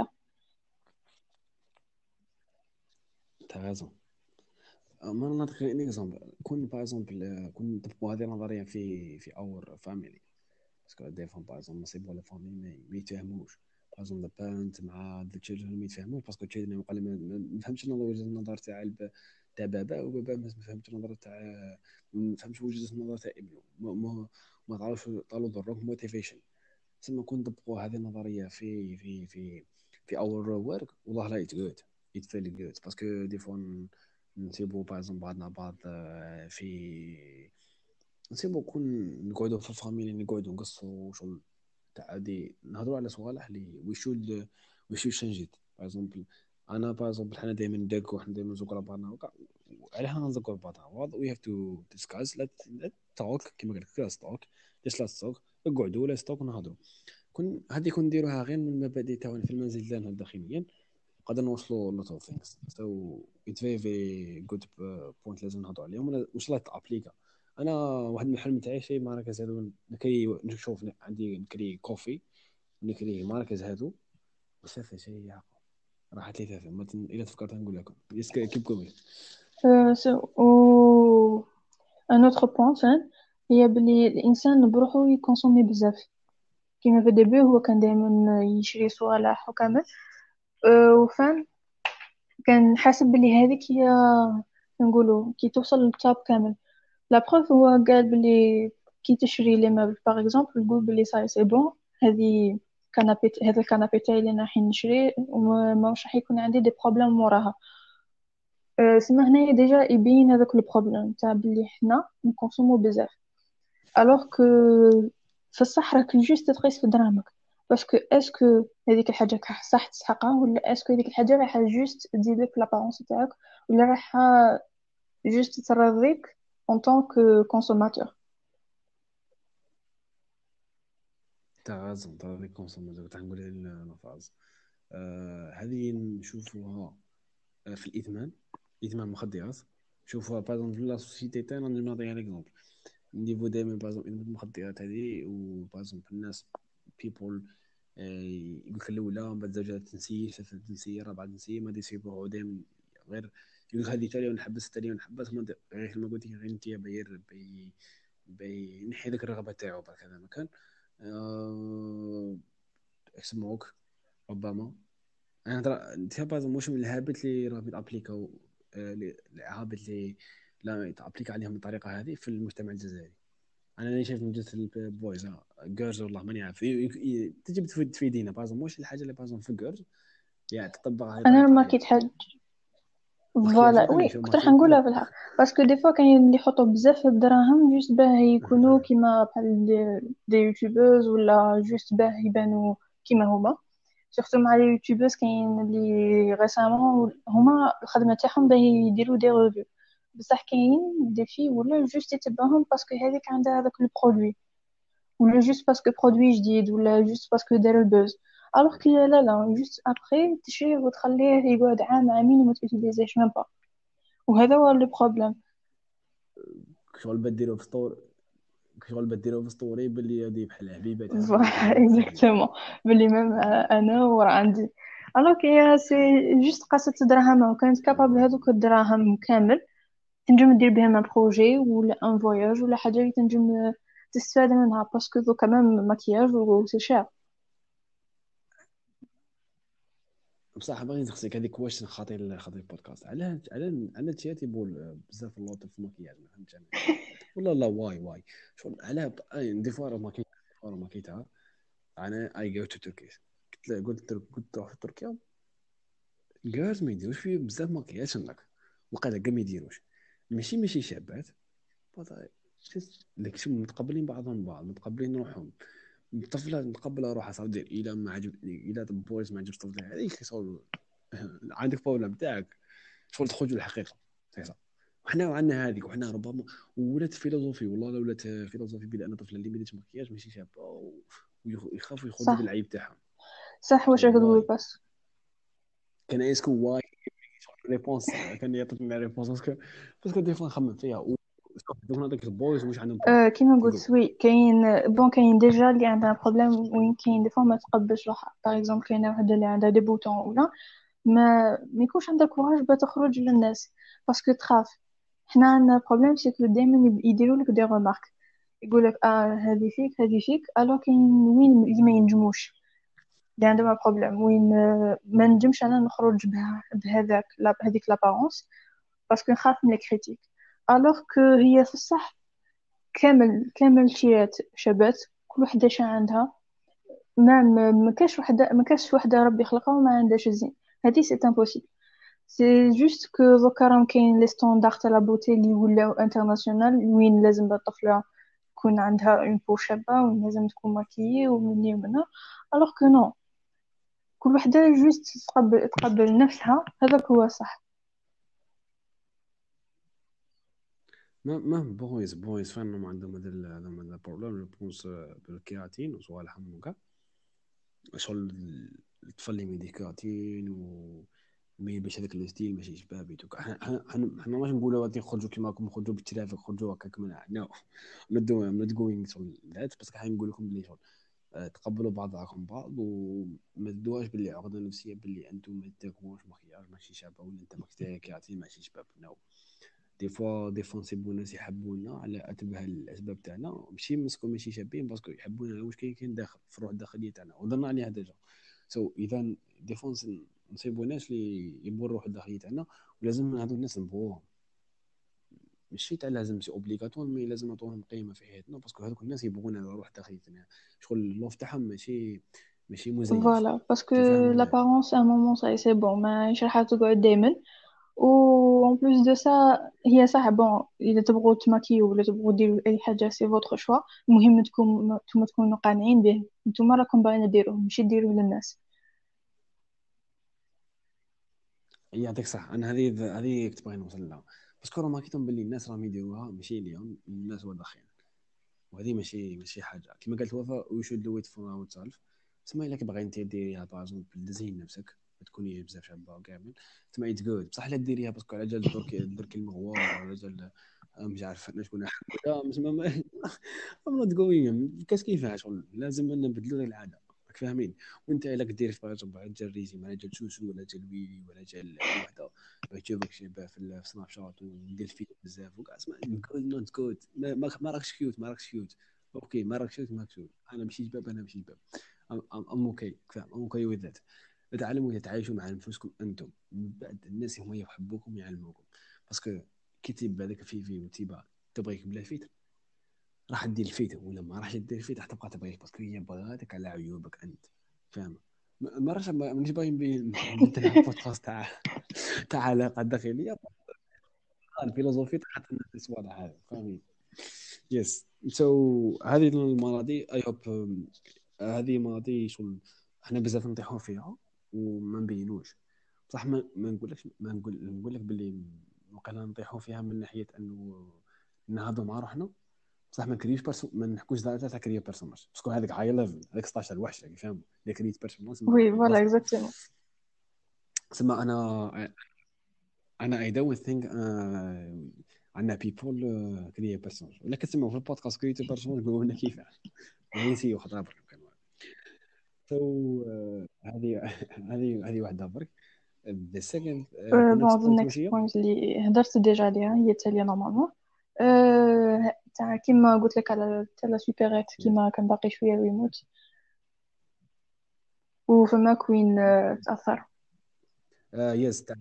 انت غازون. ما نعطيك ان اكزومبل كون باغ اكزومبل كون نطبقوا هذه النظريه في في اور فاميلي، باسكو دي فون باغ اكزومبل نصيبوا لا فامي ما يتفاهموش، باغ اكزومبل ذا بارنت مع ذا تشيلدرن ما يتفاهموش، باسكو تشيلدرن يقول ما ما فهمتش النظر وجهه النظر تاع الب... تاع بابا، وبابا ما فهمتش النظر تاع ما فهمش وجهه النظر تاع ابنه، ما ما, ما تعرفش طالوا ضروك موتيفيشن. تسمى كون نطبقوا هذه النظريه في في في في اور ورك والله لا يتجود يتفيل جود، باسكو دي فون نسيبو باغ بعضنا بعض آه، في نسيبو كون نقعدوا في الفاميلي نقعدوا نقصوا شغل تاع دي نهضروا على صوالح اللي وي شود وي شود شانج ات. باغ اكزومبل انا باغ اكزومبل حنا دائما ندركو حنا دائما نزوقوا على بعضنا وكاع على حنا نزوقوا على بعضنا وي هاف تو ديسكاس لا توك كيما قال لك لا توك ليش لا توك اقعدوا لا توك نهضروا. كون هذه كون نديروها غير من المبادئ تاعنا في المنزل ديالنا داخليا نقدر نوصلوا لوت اوف ثينكس. سو ات فيري فيري جود بوينت لازم نهضروا عليهم وان شاء الله تابليكا. انا واحد من الحلم تاعي شيء مراكز هذو نكري نشوف عندي نكري كوفي نكري مراكز هذو وصافي شيء يعقل راحت لي ثلاثة ما تن... الا تفكرت نقول لكم يس كيب كومي. أه سو و ان اوتر بوين فان هي بلي الانسان بروحو يكونسومي بزاف. كيما في الديبي هو كان دائما يشري صوالح وكامل. أه وفان كان حاسب بلي هذيك هي نقولوا كي توصل للتوب كامل. لا بروف هو قال بلي كي تشري لي مابل باغ اكزومبل تقول بلي صاي سي بون هذه كنابي هذا الكنابي تاعي اللي انا راح نشري وما ماهوش راح يكون عندي دي بروبليم موراها. أه سما هنايا ديجا يبين هذاك البروبليم تاع بلي حنا نكونسومو بزاف الوغ كو في الصح راك جوست تقيس في دراهمك. باسكو اسكو هذيك الحاجه راح صح تسحقها ولا اسكو هذيك الحاجه راح جوست تزيد لك لابارونس تاعك ولا راح جوست ترضيك en tant que consommateur. تاع غازون تاع لي كونسوماتور تاع نقول لفاز آه هذه نشوفوها آه، في الادمان، ادمان المخدرات. شوفوها باغ في لا سوسيتي تاعنا. نعطيها ليكزومبل نيفو دائما باغ ادمان المخدرات هذه، وباغ الناس بيبول يقول لك الاولى من بعد زوجها تنسي، ثالثه تنسي، رابعه تنسي، ما يسيبوها دائما غير يقول لك هذه تالي ونحبس تالي ونحبس ما ندير- غير كما قلت لك غير انت باير بي بينحي لك الرغبه تاعو برك هذا مكان. أه... سموك ربما. انا ترى انت باز مش من الهابط اللي راه يتابليكاو آه، اللي- الهابط اللي لا يتابليك عليهم بالطريقه هذه في المجتمع الجزائري. انا اللي شايف من جهه البويز جيرز والله ماني عارف ي- ي- ي- تجي تفيد تفيدينا باز مش الحاجه اللي باز في جيرز يعني تطبقها هذه انا طريقه ما حياتك. كيتحد. مكياج فوالا مثلا وي شو كنت راح نقولها ماكينه. في الحق. باسكو دي فوا كاين اللي يحطوا بزاف الدراهم جوست باه يكونوا أها. كيما بحال دي, دي يوتيوبرز، ولا جوست باه يبانوا كيما هما. سورتو مع لي يوتيوبرز كاين اللي ريسامون هما الخدمه تاعهم باه يديروا دي ريفيو، بصح كاين دي في ولا جوست يتبعهم باسكو هذيك عندها هذاك البرودوي، ولا جوست باسكو برودوي جديد، ولا جوست باسكو دار البوز. الوغ كي لا لا جوست ابخي تشريه وتخليه يقعد عام عامين وما تيتيليزيش ميم با. وهذا هو لو بروبليم. شغل بديروا في سطور، شغل بديروا في سطوري باللي هذه بحال حبيبه تاعها باللي فوالا تدير الخدمه. اكزاكتومون. باللي ميم انا ورا عندي. الوغ كي سي جوست قصة دراهم، وكانت كابابل هذوك الدراهم كامل تنجم دير بهم ان بروجي ولا ان فواياج ولا حاجه اللي تنجم تستفاد منها، باسكو ذو كمان مكياج وسي شير. بصح باغي نسقسيك هذيك واش خاطي خاطي البودكاست علاه على على تياتي بول بزاف اللوط في المكياج ما فهمتش انا. والله لا واي واي شغل علاه ب- أي دي فوا راه ما كاين راه ما كاينها. انا اي جو تو تركيا قلت له قلت له قلت تروح في تركيا جاز ما يديروش فيه بزاف مكياج هناك وقال كاع ما يديروش ماشي ماشي شابات بطا- شس- لك شو متقبلين بعضهم بعض متقبلين روحهم. طفله نتقبل روحها صار دير الى ما عجبني الى بويز ما عجبش طفله هذيك صار عندك بروبلم تاعك شغل تخرج الحقيقه سي وحنا عندنا هذيك وحنا ربما ولات فيلوزوفي والله لو ولات فيلوزوفي بان طفله اللي ما ديرش مكياج ماشي شابه ويخافوا يخرجوا صح. بالعيب تاعهم. صح واش راك تقول واي بس. كان اسكو واي ريبونس كان يعطيني ريبونس باسكو باسكو دي فوا نخمم فيها و دوك هذاك البويز واش عندهم بروبليم أه كيما كيقول قلت وي كاين بون كاين ديجا اللي عندها بروبليم وين كاين دي فوا ما تقبلش روحها. باغ اكزومبل كاينه وحده اللي عندها دي بوتون ولا ما ما يكونش عندها كوراج باش تخرج للناس باسكو تخاف. حنا عندنا بروبليم سيكو دائما يديروا لك دي ريمارك، يقول لك اه هذه فيك هذه فيك. الو كاين وين اللي ما ينجموش، اللي عندهم بروبليم وين آه، ما نجمش انا نخرج بها بهذاك لا بهذيك لابارونس باسكو نخاف من الكريتيك. الوغ كو هي في الصح كامل كامل شيات شابات كل وحده شا عندها. ما ما ما كاش وحده ما كاش وحده ربي خلقها وما عندهاش الزين. هذه سي امبوسيبل. سي جوست كو دوكا راهم كاين لي ستوندار تاع لا بوتي اللي ولاو انترناسيونال وين لازم الطفله تكون عندها اون بو شابه وين لازم تكون ماكيي ومني ومنها. الوغ كو نو، كل وحده جوست تقبل تقبل نفسها هذاك هو صح. ما ما بويز بويز فانهم عندهم هذا ال- عندهم هذا البروبليم جو بونس بالكيراتين وصوالحهم وكا شغل الطفل اللي ميدي كيراتين و مي باش هذاك الستيل ماشي شبابي دوك حنا حنا حنا حنا ماشي نقولوا غادي نخرجوا كيما راكم نخرجوا بالترافيك خرجوا هكاك من نو نوت دو نوت جوينغ شغل ذات بس حنا نقول لكم بلي شغل آه، تقبلوا بعضكم بعض وما تدوهاش باللي عقده نفسيه باللي انتم ما تاكلوش مخيار ماشي شابه ولا انت ماك كيراتين ماشي شباب نو. دي فوا دي فوا نصيبو ناس يحبونا على اتبه الاسباب تاعنا ماشي مسكو ماشي شابين باسكو يحبونا على واش كاين كاين داخل في الروح الداخليه تاعنا وظلنا عليها ديجا. سو so, اذا دي فوا نصيبو ناس اللي يبوا الروح الداخليه تاعنا ولازم هذو الناس نبوهم ماشي تاع لازم سي اوبليغاتوار مي لازم نعطوهم قيمه في حياتنا باسكو هذوك الناس يبغونا الروح الداخليه تاعنا شغل اللوف تاعهم ماشي ماشي مزيف. فوالا باسكو تفهم. لابارونس ان مومون ساي سي بون ماشي راح تقعد دائما. و en plus de ça هي صح بون اذا تبغوا تماكيو ولا تبغوا ديروا اي حاجه سي فوتر شوا. المهم تكون نتوما تكونوا قانعين به نتوما راكم باغيين ديروه ماشي ديروه للناس. يعطيك صح انا هذه هذه كنت باغي نوصل لها باسكو راه ماكيتهم باللي الناس راهم يديروها ماشي اليوم الناس واضحين وهذه ماشي ماشي حاجه كما قالت وفاء وي شود دو ات فور اور سيلف تسمى الا كبغي انت ديريها باغ تزين نفسك ما تكوني بزاف شابه وكامل تسمى ات جود، بصح لا ديريها باسكو على جال درك درك المغوار ولا جال مش عارف انا شكون لا تسمى ما ام نوت جوين كاس كيفاش شغل لازم نبدلوا العاده راك فاهمين. وانت الا كدير باغ اكزومبل جال ريزي مع جال سوسو ولا جال ويلي ولا جال اي وحده باغي تشوفك شابه في سناب شات ودير فيديو بزاف وكاع اسمع جود نوت جود ما ما راكش كيوت ما راكش كيوت اوكي ما راكش كيوت ما راكش كيوت انا ماشي جباب انا ماشي جباب ام ام اوكي فاهم ام اوكي وذ ذات. تعلموا تتعايشوا مع انفسكم انتم من بعد الناس هما يحبوكم يعلموكم باسكو كي تيب هذاك في في وتيبا تبغيك بلا فيتر راح دير الفيتر ولا ما راح دير الفيتر راح تبقى تبغيك باسكو هي بغاتك على عيوبك انت فاهم. ما راش مانيش باغي نبدل على بودكاست تاع تاع علاقه داخليه الفيلوزوفي تاع الناس واضح هذا فاهمين. يس سو هذه المواضيع اي هوب هذه مواضيع شغل احنا بزاف نطيحوا فيها وما نبينوش بصح ما, ما نقولكش ما نقول نقول لك باللي وقيلا نطيحوا فيها من ناحيه انه نهضوا مع روحنا بصح ما كريوش برسو ما نحكوش دائما تاع كريو بيرسوناج باسكو هذاك هاي ليفل هذاك ستاشر الوحش اللي فاهم اللي كريت بيرسوناج سما وي فوالا بلاصه اكزاكتومون. سما انا انا اي دونت ثينك عندنا بيبول كريو بيرسوناج ولا كتسمعوا في البودكاست كريو بيرسوناج نقولوا لنا كيفاش نسيو خطره برك كانوا سو هذه هذه هذه واحده برك. ذا سكند كنا بون ذا نتسولفوا نيكست شويه. بوينت اللي هدرت ديجا عليها هي التالية نورمالمون. أه تاع كيما قلت لك على تاع لا سوبيريت كيما كان باقي شوية ويموت وفما كوين أه تأثر. يس تاع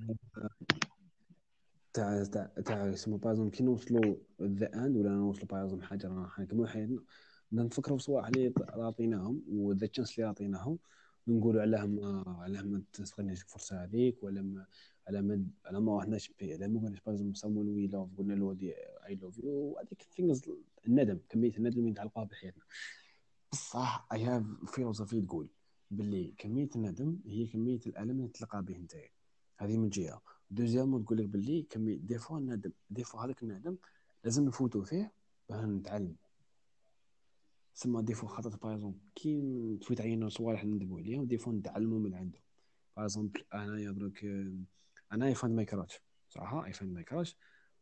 تاع تاع تاع اسمه بازم كي نوصلوا ذا اند ولا نوصلوا بازم حاجه رانا نكملوا حياتنا بدنا نفكروا في صوالح اللي عطيناهم وذا تشانس اللي عطيناهم ونقولوا علاه ما علاه ما تستغلش الفرصه هذيك ولا ما على ما على ما رحناش به على ما قلناش بازم سامون وي لوف قلنا له دي اي لوف يو هذيك ثينجز الندم كميه الندم اللي نتعلقوها بحياتنا. بصح اي هاف فيلوسوفي تقول باللي كميه الندم هي كميه الالم اللي تلقى به انت. هذه من جهه. دوزيامون تقول لك باللي كميه دي فوا الندم دي فوا هذاك الندم لازم نفوتوا فيه باه نتعلم. سما دي فوا خاطر باغ كي تفوت علينا صوالح ندموا عليهم دي فوا نتعلموا من عندهم. باغ انايا درك انا اي فاند ماي كراش صراحه اي فاند ماي كراش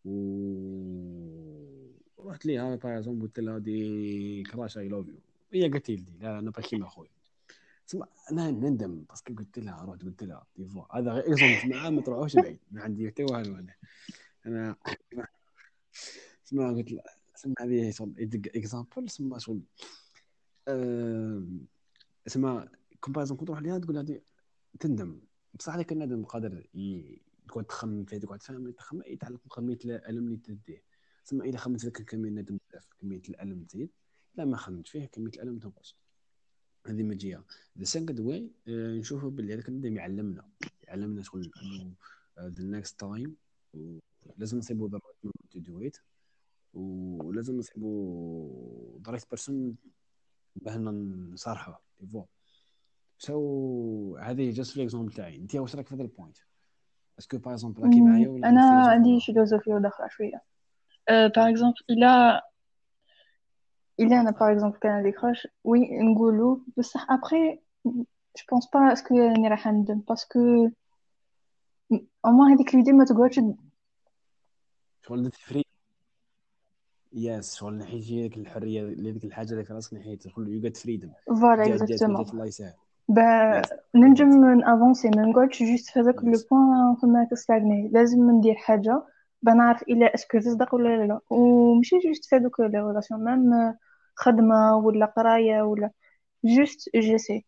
و رحت ليها باغ قلت لها دي كراش اي لوف يو هي قالت لي لا انا باكي ما خويا. تسمع انا نندم باسكو قلت لها رحت قلت لها دي فوا هذا غير اكزومبل تسمع ما تروحوش بعيد ما عندي حتى والو انا انا تسمع قلت لها تسمع هذه شغل اكزامبل تسمع شغل أه... تسمع كومباريزون كنت تروح ليها تقول هذه تندم بصح هذاك الندم قادر ي... تقعد تخمم فيه تقعد تفهم تخمم يتعلق بكميه الالم اللي تديه. تسمى اذا خممت فيك كميه الندم بزاف كميه الالم تزيد لا ما خممت فيه كميه الالم تنقص. هذه من جهه. ذا سكند واي نشوفوا باللي هذاك الندم يعلمنا يعلمنا شغل انه ذا نيكست تايم لازم نصيبوا ذا رايت تو دو ات ولازم نصيبوا ذا رايت بيرسون باه نصارحوه فوا. سو هذه جاست ليكزومبل تاعي انت واش راك في هذا البوينت اسكو باغ اكزومبل راكي معايا ولا انا عندك فيلوزوفي عندي واحد. فيلوزوفيا داخله شويه. باغ اكزومبل الى الى انا باغ اكزومبل كان عندي كراش وي نقولوا بصح ابخي جو بونس با اسكو راني راح ندم باسكو او موان هذيك ليدي ما تقعدش. شغل درت فري يس شغل نحيتي ديك الحريه اللي ديك الحاجه اللي في راسك نحيت شغل يو جيت فريدم فوالا جات جات ما اكزاكتومون. جات الله يسهل. با يس ننجم بالضبط. نافونسي ما نقعدش جوست في هذاك لو يس بوين فما كستاغني لازم ندير حاجه بنعرف الى اسكو تصدق ولا لا ومشي جوست في هذوك لي ريلاسيون ميم خدمه ولا قرايه ولا جوست جيسي.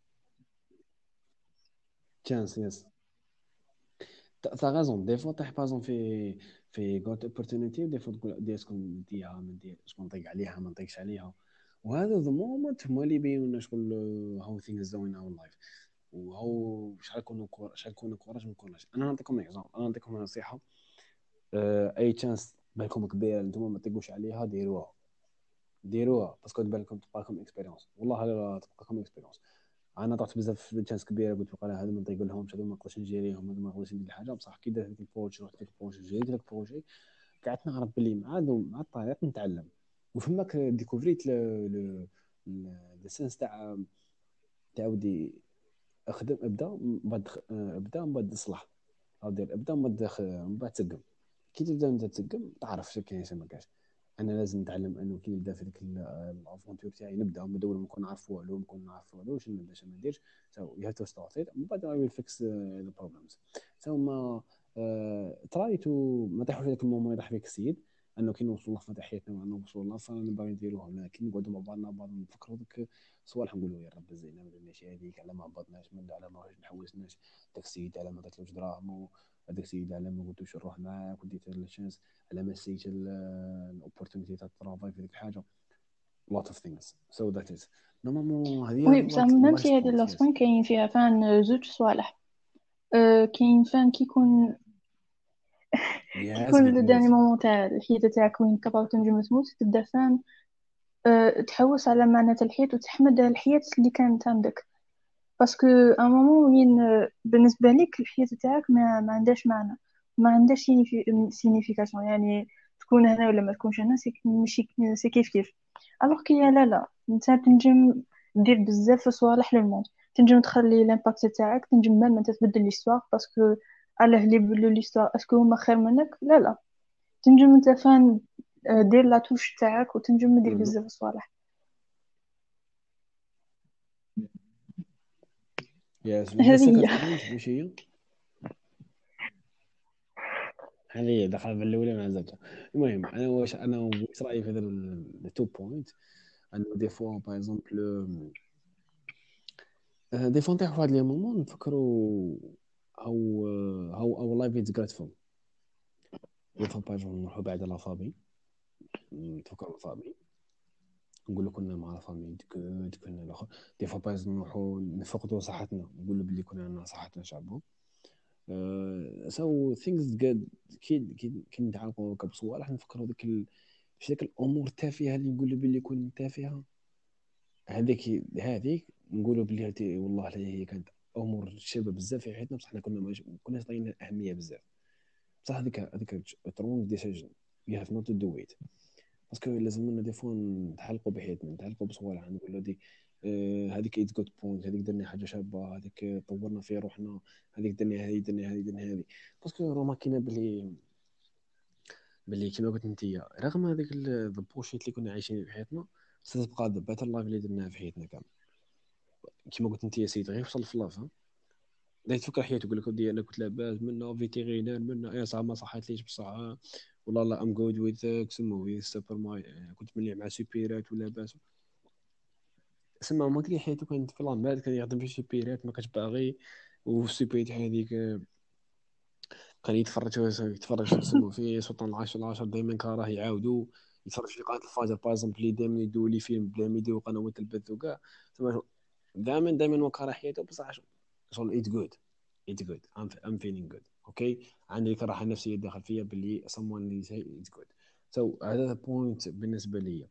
تشانس يس t'as raison des fois طيح بازون في في جوت اوبورتونيتي دي فوا تقول دي اسكو نديها ما ندير اسكو نطيق عليها ما نطيقش عليها وهذا ذا مومنت هما اللي يبينوا لنا شغل هاو ثينجز دوين اور لايف وهو شحال كونوا شحال كونوا كوراج ما كوناش. انا نعطيكم اكزامبل انا نعطيكم نصيحه أه اي تشانس بالكم كبيره انتم ما تطيقوش عليها ديروها ديروها باسكو تبان لكم تبقى لكم اكسبيريونس والله لا تبقى لكم اكسبيريونس. انا طرت بزاف في تشانس كبيره قلت بقى هذا ما نطيق لهمش هذا ما نقدرش نجيريهم هذا ما نقدرش ندير الحاجه بصح كي درت ديك البروجي رحت ديك البروجي جيت ديك البروجي قعدت نعرف باللي مع مع الطريق نتعلم وفماك ديكوفريت لو سنس تاع تعاودي اخدم ابدا من بعد خ- آه، ابدا من بعد اصلح او دير ابدا من بعد خ- من بعد تقم. كي تبدا انت تقم تعرف شنو كاين شنو ما كاينش. انا لازم نتعلم انه كي نبدا في ديك الافونتور تاعي نبدا من اول ما نكون عارف والو ما نكون نعرف والو شنو نبدا شنو ما نديرش. so you have to start it من بعد I will fix uh, the problems. so ما تراي تو ما تحوش هذاك المومون يطيح فيك السيد انه كي نوصل لفه تاع حياتنا وانا نوصل لفه نبغي نديروها. لكن نقعدوا مع بعضنا بعض نفكروا ديك صوالح نقولوا يا رب زينا ما درناش هذيك على ما هبطناش من على ما نحوسناش داك السيد على ما درتلوش دراهم هذاك السيد على ما قلتوش نروح معاك وديت الشانس على ما سيت الاوبورتونيتي تاع الترافاي في ديك الحاجه. lot of things so that is نورمالمون وي هذه بصح like ممتي last هذه point yes لاسبوين كاين فيها فان زوج صوالح. أه كاين فان كيكون yes كيكون قلت لو داني لي مومون تاع الحياة تاعك وين كبرت تنجم تموت تبدا فان أه تحوس على معنى تاع الحياة وتحمد الحياة اللي كانت عندك. باسكو ان مومون وين آه، بالنسبة لك الحياة تاعك ما, ما عندهاش معنى، ما عندهاش سينيفيكاسيون. يعني تكون هنا ولا ما تكونش هنا سي ماشي سي كيف كيف. الوغ كي لا لا انت تنجم دير بزاف صوالح للموند، تنجم تخلي لامباكت تاعك، تنجم ميم انت تبدل ليستوار. باسكو علاه اللي يبدلوا ليستوار اسكو هما خير منك؟ لا لا، تنجم انت فان آه، دير لا توش تاعك وتنجم دير مهم. بزاف صوالح. yes the هذه second هي. point واش هي؟ هذه دخل بالاولى مع زوجها. المهم انا واش انا واش رايي في هذا التو بوينت انه دي فوا باغ اكزومبل دي فوا نطيحوا في هذا لي مومون نفكروا هاو هاو اور لايف از جراتفول. دي فوا باغ اكزومبل نروحوا بعد لا فامي نتفكروا لا فامي نقول لك كنا مع لا فامي ديك ديك كنا الاخر. دي فوا باغ اكزومبل نروحوا نفقدوا صحتنا نقولوا بلي كنا عندنا صحتنا شعبوا. سو ثينكس جود كي كي كي نتعلقوا هكا بصوالح نفكروا ديك ال... مش ديك الامور التافهه اللي نقولوا بلي كون تافهه. هذيك هذيك نقولوا بلي هاتي والله هي كانت امور شابه بزاف في حياتنا بصح حنا كنا ما كناش عطينا اهميه بزاف. بصح هذيك هذيك ترونغ ديسيجن يو هاف نوت تو دو ات. باسكو لازم لنا دي فوا نتعلقوا بحياتنا نتعلقوا بصوالح نقولوا دي آه، هذيك ايت جود بوينت هذيك درنا حاجه شابه هذيك طورنا في روحنا هذيك درنا هذه درنا هذه درنا هذه. باسكو راه ما كاينه بلي بلي كيما قلت انت رغم هذيك البوشيت اللي كنا عايشين في حياتنا ستبقى ذا بيتر لايف اللي درناها في حياتنا كامل. كيما قلت انت يا سيدي غير وصل في لاف لا تفكر حياتك يقول لك ودي انا كنت لاباس منا فيتيرينير منا يا صح ما صحتليش بصح والله لا ام جود ويز سمو ويز سوبر ماي كنت مليح مع سوبيرات ولاباس. سما ما كان حياته كانت في لامباد كان يخدم في سوبيرات ما كانش باغي والسوبيرات هذيك كان يتفرج يتفرج تسمو في سلطان العاشر العاشر دائما كان راه يعاودوا يتفرج في قناه الفجر بارزومبل اللي دائما يدوا لي فيلم بلا ما يديروا قنوات البث وكاع. تما دائما دائما وكره حياته بصح شغل ايت جود ايت جود ام ام فيلينغ جود اوكي. عندي ديك الراحه النفسيه داخل فيا باللي someone is ايت جود. سو هذا بوينت بالنسبه لي.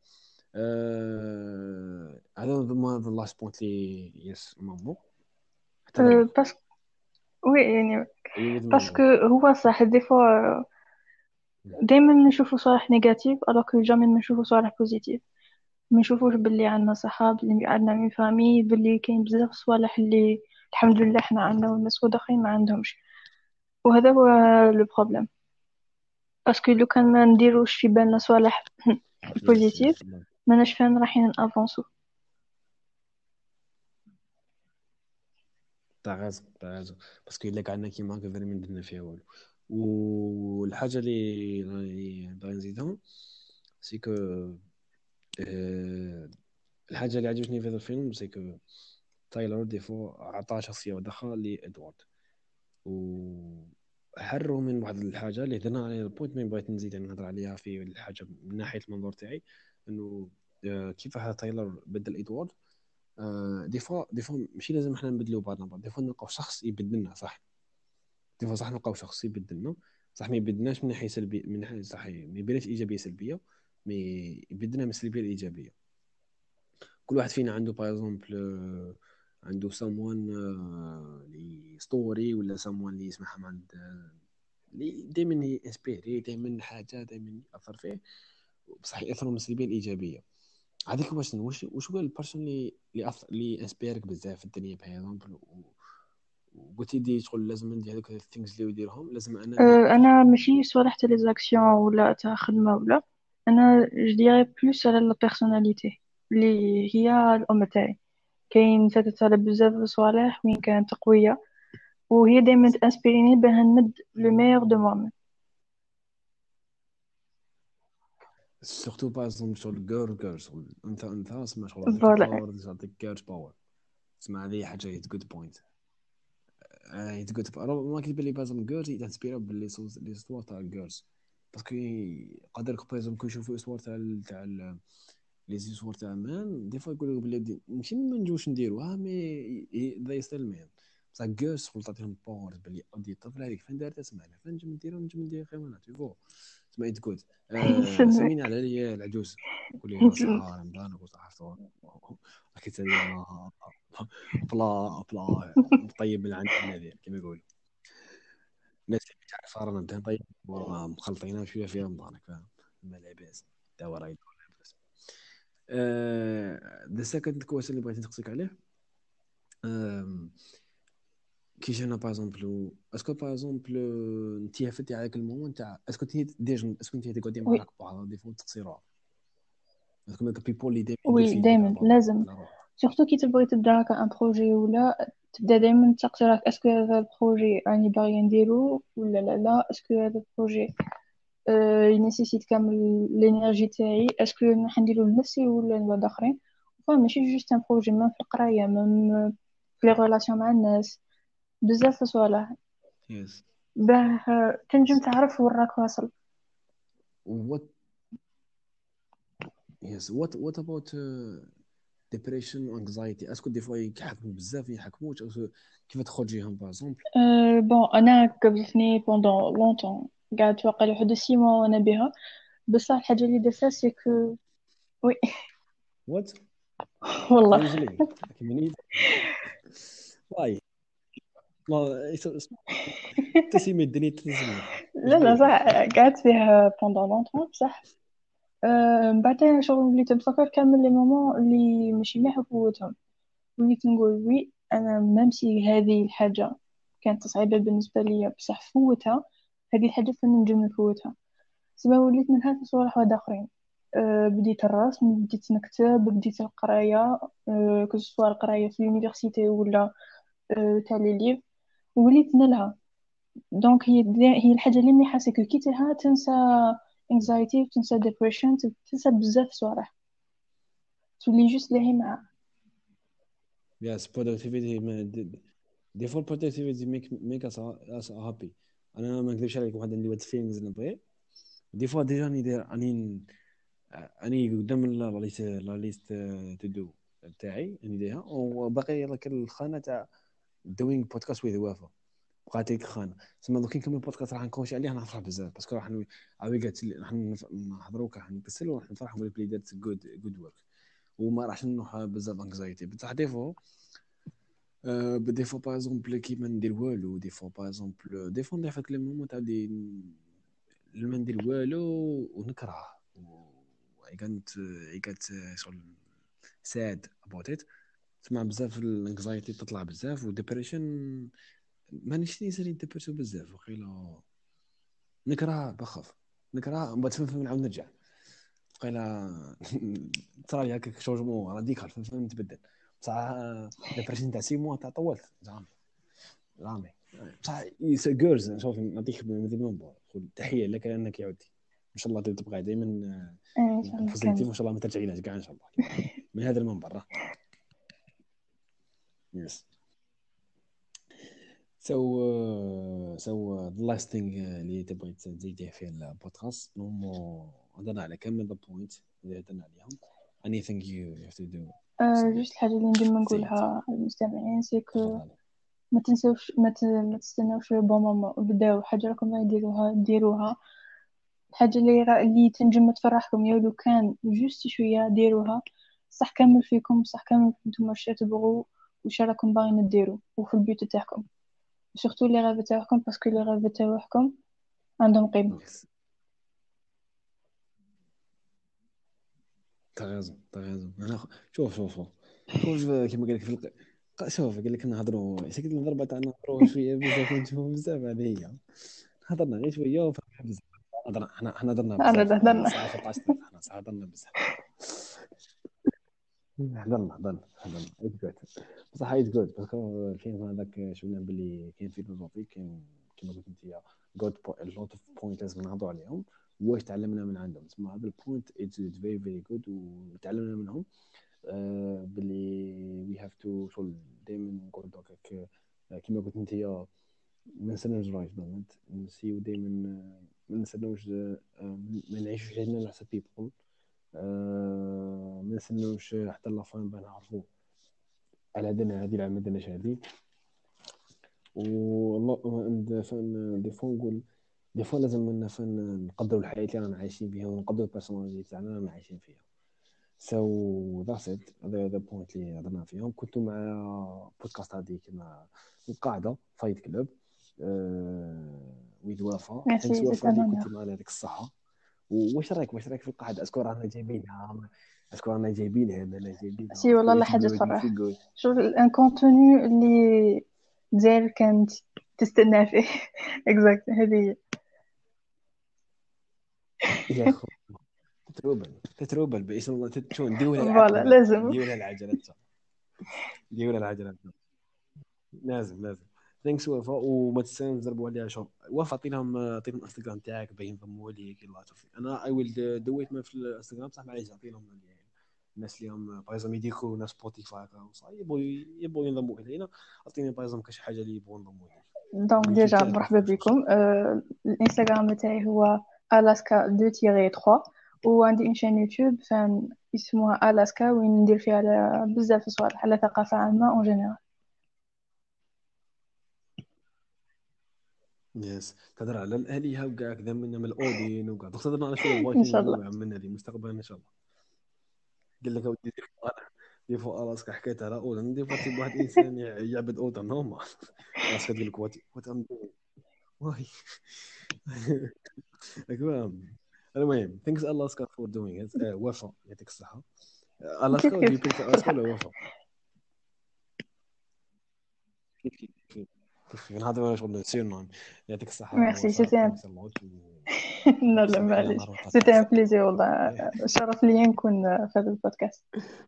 آه، هذا ما ذا لاست بوينت لي يس مامو حتى انا أه معك. بس وي يعني اي with باسكو me. هو صح دي فوا دايما نشوفوا صالح نيجاتيف الوغ جامي ما نشوفوا صالح بوزيتيف. ما نشوفوش باللي عندنا صحاب، باللي عندنا من فامي، باللي كاين بزاف صوالح اللي الحمد لله احنا عندنا والناس الاخرين ما عندهمش. وهذا هو لو بروبليم. باسكو لو كان ما نديروش في بالنا صوالح يس بوزيتيف يس الله. ما ناش فين رايحين افونسو. تاع غازو تاع غازو باسكو الا قعدنا كيما هكا فريمون درنا فيها والو. والحاجه اللي اللي باغي نزيدها سي كو آه، الحاجه اللي عجبتني في هذا الفيلم سي كو تايلور دي فو عطاه شخصيه واحده لادوارد وحروا من واحد الحاجه اللي هضرنا عليها البوينت ما بغيت نزيد نهضر عليها في الحاجه من ناحيه المنظور تاعي انه آه، كيف هذا تايلور بدل ادوارد. آه، دي فوا دي فوا ماشي لازم احنا نبدلوا بعضنا بعض. دي فوا نلقاو شخص يبدلنا صح. دي فوا صح نلقاو شخص يبدلنا صح ما يبدلناش من ناحيه سلبيه من ناحيه صح ما يبينش ايجابيه سلبيه مي يبدلنا من السلبيه الايجابيه. كل واحد فينا عنده باغ اكزومبل عنده someone آه، اللي ستوري ولا someone اللي يسمعها من عند آه، اللي دائما انسبيري دائما حاجه دائما ياثر فيه بصح ياثر من السلبيه الايجابيه. هذيك واش واش واش هو البيرسون اللي اللي أث... اللي انسبيرك بزاف في الدنيا باغ اكزومبل، وقلتي دي شغل لازم ندير هذوك الثينجز اللي يديرهم لازم انا نديرهم. أه انا ماشي صالح تاع لي زاكسيون ولا تاع خدمه ولا، انا جو ديري بلوس على لا بيرسوناليتي اللي هي الام تاعي. كاين فاتت على بزاف صوالح وين كانت قويه، وهي دائما تانسبيريني باه نمد لو ميور دو موا. سورتو باغ اكزومبل شغل جيرل جيرلز، انت انت اسمع شغل عندك فوالا. الباور تعطيك جيرلز باور. اسمع هذه حاجه هي جود بوينت. هي جود باور ما كتبان لي باغ اكزومبل جيرلز يتانسبيرو باللي صوص لي ستوار تاع الجيرلز، باسكو قادر باغ اكزومبل كون يشوفوا ستوار تاع ال- تاع ال- لي زيسوار تاع مان دي فوا يقولوا بلي دي- ماشي ما نجوش نديروها مي ذا ستيل مان، بصح جيرلز شغل تعطيهم باور باللي اودي الطفل هذيك فين دارت اسمع فين نجم نديرو نجم ندير خير منها تيفو. اسمع انت كود آه نسلمك. سمينا على لي العجوز، قول لي صحه رمضان وصحه فطور اكيد تدري انا بلا بلا طيب من عند النذير كما يقولوا الناس اللي تعرف رانا نبدا طيب مخلطينها شويه في رمضان فاهم ما لاباس دواء راهي لاباس. ذا سكند كويشن اللي بغيت نسقسيك عليه آم، كي جينا باغ اكزومبل اسكو باغ اكزومبل انت فتي على المومون تاع اسكو انت ديجا اسكو انت تقعدي مع وي راك بعض دي فوا تقصيروها اسكو ماك بيبول اللي دائما يدير وي فيدباك دائما على لازم، على روحه. سورتو كي تبغي تبدا هكا ان بروجي ولا، تبدا دائما تسقسي راك اسكو هذا البروجي راني باغي نديرو ولا لا لا، اسكو هذا البروجي أه ينيسيسيت كامل الانرجي تاعي، اسكو راح نديرو لنفسي ولا لواحد اخرين. فما ماشي جوست ان بروجي، ميم في القرايه، ميم في لي ريلاسيون مع الناس، بزاف صوالح يس باه آه، تنجم تعرف وين راك واصل. وات يس وات وات اباوت ديبريشن وانكزايتي اسكو دي فوا يحكموا بزاف يحكموش أو كيف تخرجيهم باغ اكزومبل. أه بون انا قبلتني بوندون لونتون، قعدت واقع لحد سي موا وانا بها، بصح الحاجه اللي درتها سي كو وي. وات والله. رينجلي كيما نيت واي لا تسمي الدنيا تسمي واش لا لا بيك. صح، قعدت فيها بوندون لونتون بصح. أه بعدين شغل وليت نتفكر كامل لي مومون اللي ماشي مليح وفوتهم، وليت نقول وي انا ممشي هذه الحاجه كانت صعيبه بالنسبه لي بصح فوتها، هذه الحاجه فين نجم نفوتها. سما وليت منها في صوالح واحد اخرين. أه بديت الرسم، بديت نكتب، بديت القرايه، أه كسوا القرايه في اليونيفرسيتي ولا أه تاع لي ليف، وليت نلها. دونك هي هي الحاجه اللي مليحه سكو كي تلها تنسى anxiety وتنسى depression، تنسى بزاف صوالح، تولي جوست لاهي معاه. يس productivity دي فور productivity make make us us happy. انا ما نكذبش عليك واحد عندي واحد الفيلينغز نبغي دي فوا ديجا راني داير راني راني قدام لا ليست لا ليست تو دو تاعي راني دايرها وباقي لك الخانه تاع دوينغ بودكاست ويز وافا بقات لك خانه تسمى دوك نكمل بودكاست راح نكونش عليه راح نفرح بزاف باسكو راح عاوي قالت راح نحضروا راح نكسل وراح نفرح نقول بلي دارت جود جود ورك وما راحش نروح بزاف انكزايتي بصح ديفو أه دي فوا باغ اكزومبل كيما ندير والو دي فوا باغ اكزومبل دي فوا ندير فهاد لي مومون تاع دي ما ندير والو ونكره اي كانت اي كانت شغل ساد ابوت ات تسمع بزاف الانكزايتي تطلع بزاف وديبريشن ما نشتي يصير ديبرسيو بزاف وقيلا نكره بخاف نكره بعد فهم نعاود نرجع وقيلا صار لي هكاك شونجمون راديكال فهم نتبدل بصح ديبرسيون تاع سي موا تاع طولت زعما رامي بصح جيرلز نشوف نعطيك مثل منبر تحيه لك انك يا ودي ان شاء الله تبقى دائما ان شاء الله بوزيتيف كامل. وان شاء الله ما ترجعيناش كاع ان شاء الله كما نقولوا من هذا المنبر يس سو سو ذا لاست ثينغ اللي تبغي تزيديه في البودكاست نورمال هضرنا على كامل ذا بوينت اللي هضرنا عليهم anything you have to do أه say جوست الحاجه اللي ندير say it نقولها للمستمعين سي كو تفضل. ما تنسوش ما, ت... ما تستناوش بون مومون، بداو حاجه راكم يديروها ديروها، الحاجه اللي را... اللي تنجم تفرحكم يا لو كان جوست شويه ديروها. صح كامل فيكم، صح كامل نتوما واش تبغوا واش راكم باغيين ديروا وفي البيوت تاعكم، سورتو لي غاف تاعكم باسكو لي غاف تاعكم عندهم قيمه. yes تغازم تغازم انا خ- شوف شوف شوف شوف كما قال لك في الق... ق- شوف قال لك نهضروا سكت الضربه تاع نهضروا شويه بزاف ونشوفوا بزاف هذه هي هضرنا غير شويه وفهمنا بزاف هضرنا حنا حنا هضرنا أنا بزاف هذه هضرنا. الساعه سبعطاش دقيقه حنا صح هضرنا بزاف هضرنا هضرنا هضرنا اتس جود بصح اتس جود باسكو الفيلم هذاك شفنا باللي كاين فيلوزوفي كاين كما قلت انت جود لوت اوف بوينت لازم نهضروا عليهم واش تعلمنا من عندهم تسمى هذا البوينت اتس فيري فيري جود وتعلمنا منهم آه، باللي وي هاف تو شغل دائما نقول هكاك كما قلت انت ما نستناوش رايت بلانت نسيو دائما ما نستناوش آه، ما نعيشوش عندنا على حسب بيبل ما نستناوش حتى لافان باه نعرفوا على هذنا هذه العام ما درناش هذه والله فان دي فوا نقول دي فوا لازم لنا فان نقدروا الحياه اللي رانا عايشين فيها ونقدروا البيرسوناليتي تاعنا رانا عايشين فيها سو ذاتس ات هذا هذا البوينت اللي هضرنا فيهم كنت مع بودكاست هذه كما القاعده فايت كلوب ويد وفاء ثانكس ميرسي، سيت وفاء ان اللي اونور. كنت معنا يعطيك الصحه واش رايك واش رايك في القاعده اسكو رانا جايبينها اسكو رانا جايبينها لا جايبينها سي اسكو والله لا يو فيل حاجة جود يو تفرح. فيل جود شوف ان كونتوني اللي ديال كانت تستنى فيه. اكزاكت هذه هي. يا خو تتروبل تتروبل باسم الله تشون نديروا لها فوالا العتمه لازم. نديروا لها العجلات نديروا لها العجلات لازم لازم ثانكس وفا وما تنساوش تضربوا عليها شوف وفا عطيناهم عطينهم الانستغرام تاعك باين ينضموا ليك يلا شوف انا اي ويل دو ات في الانستغرام بصح معليش عطينهم الناس اللي هم بايزوم يديكوا ناس سبوتيفاي يبغوا يبغوا ينضموا الينا عطيني بايزوم كاش حاجه اللي يبغوا ينضموا لي دونك اليوتيوب ديجا تاعك مرحبا كيفاش ماشي بكم. أه الانستغرام تاعي هو الاسكا دو تيري ثلاثة، وعندي ان شان يوتيوب فان اسمها الاسكا وين ندير فيها على بزاف صوالح على ثقافة عامة اون جينيرال. يس تهضر على الالهه وكاع كذا من من الاودين وكاع دوك تهضر على شويه ان فايكنج شاء الله. من هذه مستقبلا ان شاء الله قال لك اودي دي فوا الاسكا حكيت على اودن دي فوا تيب واحد انسان يعبد اودن نورمال الاسكا تقول لك وات وات ام واي المهم المهم ثانكس الاسكا فور دوينغ ات وفاء يعطيك الصحه كيف الاسكا ودي كيف بريفير الاسكا بالحق. ولا وفاء كيف كيف كيف كيف نهضروا شغل سيرنون يعطيك الصحه ميرسي وفاء سيتي. ثانكس اللوت لا لا وصافي معليش، نهار سيتي ان بودكاست بليزير والله. شرف لي نكون في هذا البودكاست.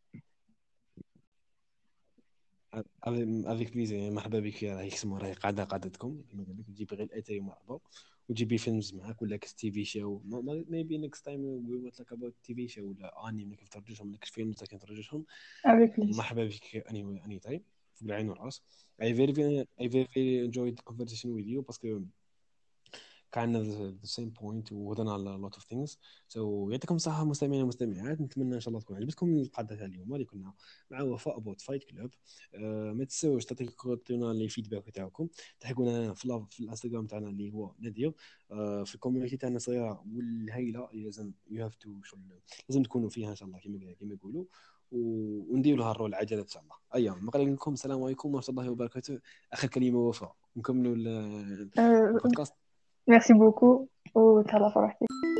افيك بليزير مرحبا بك راهي اسمه راهي قاعده قعدتكم كما قال لك تجيبي غير الاتاي مرحبا وتجيبي فيلمز معاك ولا كس تي في شو ميبي نيكست تايم وي وات لاك اباوت تي في شو ولا اني كيف ترجعهم لك فيلمز كيف ترجعهم افيك بليزير. مرحبا بك اني اني تايم في العين والراس I very very I very very enjoyed the conversation with you باسكو كان the same point وهضرنا على a lot of things so يعطيكم الصحة مستمعين ومستمعات نتمنى إن شاء الله تكون عجبتكم القعدة تاع اليوم اللي كنا مع وفاء أبوت فايت كلوب أه ما تنسوش تعطيونا لي فيدباك تاعكم تحكونا في في الانستغرام تاعنا اللي هو نادير أه في الكوميونيتي تاعنا صغيرة والهايلة اللي لازم يو هاف تو لازم تكونوا فيها إن شاء الله كما كما يقولوا ونديروا لها الرول العجلة إن شاء الله أيام ما قال لكم السلام عليكم ورحمة الله وبركاته آخر كلمة وفاء نكملوا البودكاست. ميرسي بوكو وتهلا فرحتي.